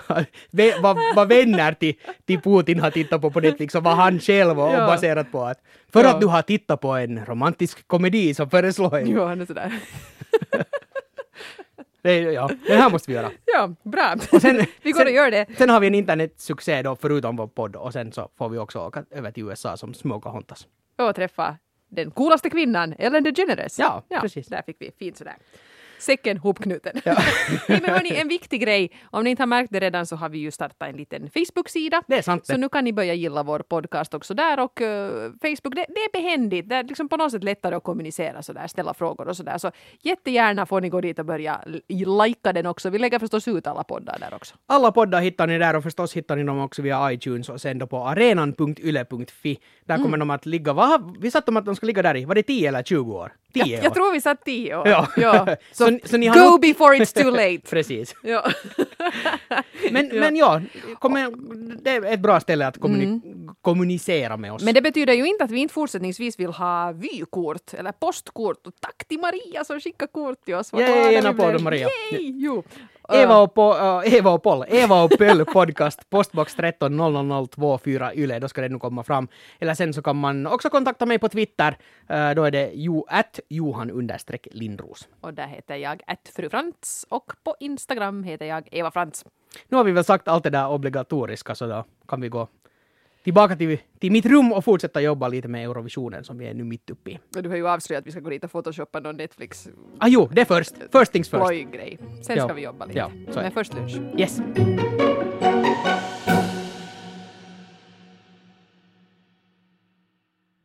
[SPEAKER 1] vad, vad vänner till, till Putin har tittat på på Netflix och vad han själv och, ja. och baserat på att för ja. att du har tittat på en romantisk komedi så föreslår jag.
[SPEAKER 2] Jo, han är sådär.
[SPEAKER 1] Det, ja, det här måste vi göra.
[SPEAKER 2] Ja, bra.
[SPEAKER 1] Och sen,
[SPEAKER 2] vi går
[SPEAKER 1] sen,
[SPEAKER 2] och gör det.
[SPEAKER 1] Sen har vi en internetsuccé då, förutom vår podd. Och sen så får vi också åka över till U S A som Småkahontas.
[SPEAKER 2] Och träffa den coolaste kvinnan, Ellen DeGeneres.
[SPEAKER 1] Ja, precis.
[SPEAKER 2] Där fick vi fint sådär. Säcken hopknuten.
[SPEAKER 1] Ja.
[SPEAKER 2] Nej, men hörni, en viktig grej. Om ni inte har märkt det redan så har vi ju startat en liten Facebook-sida.
[SPEAKER 1] Det är sant.
[SPEAKER 2] Så nu kan ni börja gilla vår podcast också där. Och uh, Facebook, det, det är behändigt. Det är liksom på något sätt lättare att kommunicera sådär, ställa frågor och sådär. Så jättegärna får ni gå dit och börja lajka den också. Vi lägger förstås ut alla poddar där också.
[SPEAKER 1] Alla poddar hittar ni där och förstås hittar ni dem också via iTunes och sen då på arenan punkt yle punkt fi. Där kommer mm. de att ligga. Vad har vi satt dem att de ska ligga där i? Var det tio eller tjugo år? tio
[SPEAKER 2] jag,
[SPEAKER 1] år.
[SPEAKER 2] jag tror vi satt tio år.
[SPEAKER 1] Ja.
[SPEAKER 2] ja. Så,
[SPEAKER 1] så, så ni har
[SPEAKER 2] go
[SPEAKER 1] nog...
[SPEAKER 2] before it's too late.
[SPEAKER 1] Precis.
[SPEAKER 2] Ja.
[SPEAKER 1] men,
[SPEAKER 2] ja.
[SPEAKER 1] men ja, kommer, det är ett bra ställe att kommuni- mm. kommunicera med oss.
[SPEAKER 2] Men det betyder ju inte att vi inte fortsättningsvis vill ha vykort eller postkort. Och tack till Maria som skickar kort till oss.
[SPEAKER 1] Yay, en applåd Maria.
[SPEAKER 2] Yay, jo.
[SPEAKER 1] Eva och, po, uh, Eva och Paul, Eva och Pöll podcast, postbox tretton noll noll noll två fyra Yle, då ska det nu komma fram. Eller sen så kan man också kontakta mig på Twitter, uh, då är det jo, at Johan understreck Lindros.
[SPEAKER 2] Och där heter jag at Fru Frans och på Instagram heter jag Eva Frans.
[SPEAKER 1] Nu har vi väl sagt allt det där obligatoriska så då kan vi gå tillbaka till, till mitt rum och fortsätta jobba lite med Eurovisionen som vi är nu mitt uppe i.
[SPEAKER 2] Och du har ju avslöjat att vi ska gå dit och photoshoppa någon Netflix.
[SPEAKER 1] Ah jo, det är först. First things first.
[SPEAKER 2] Grej. Sen
[SPEAKER 1] ja.
[SPEAKER 2] ska vi jobba lite.
[SPEAKER 1] Ja,
[SPEAKER 2] men först lunch.
[SPEAKER 1] Yes.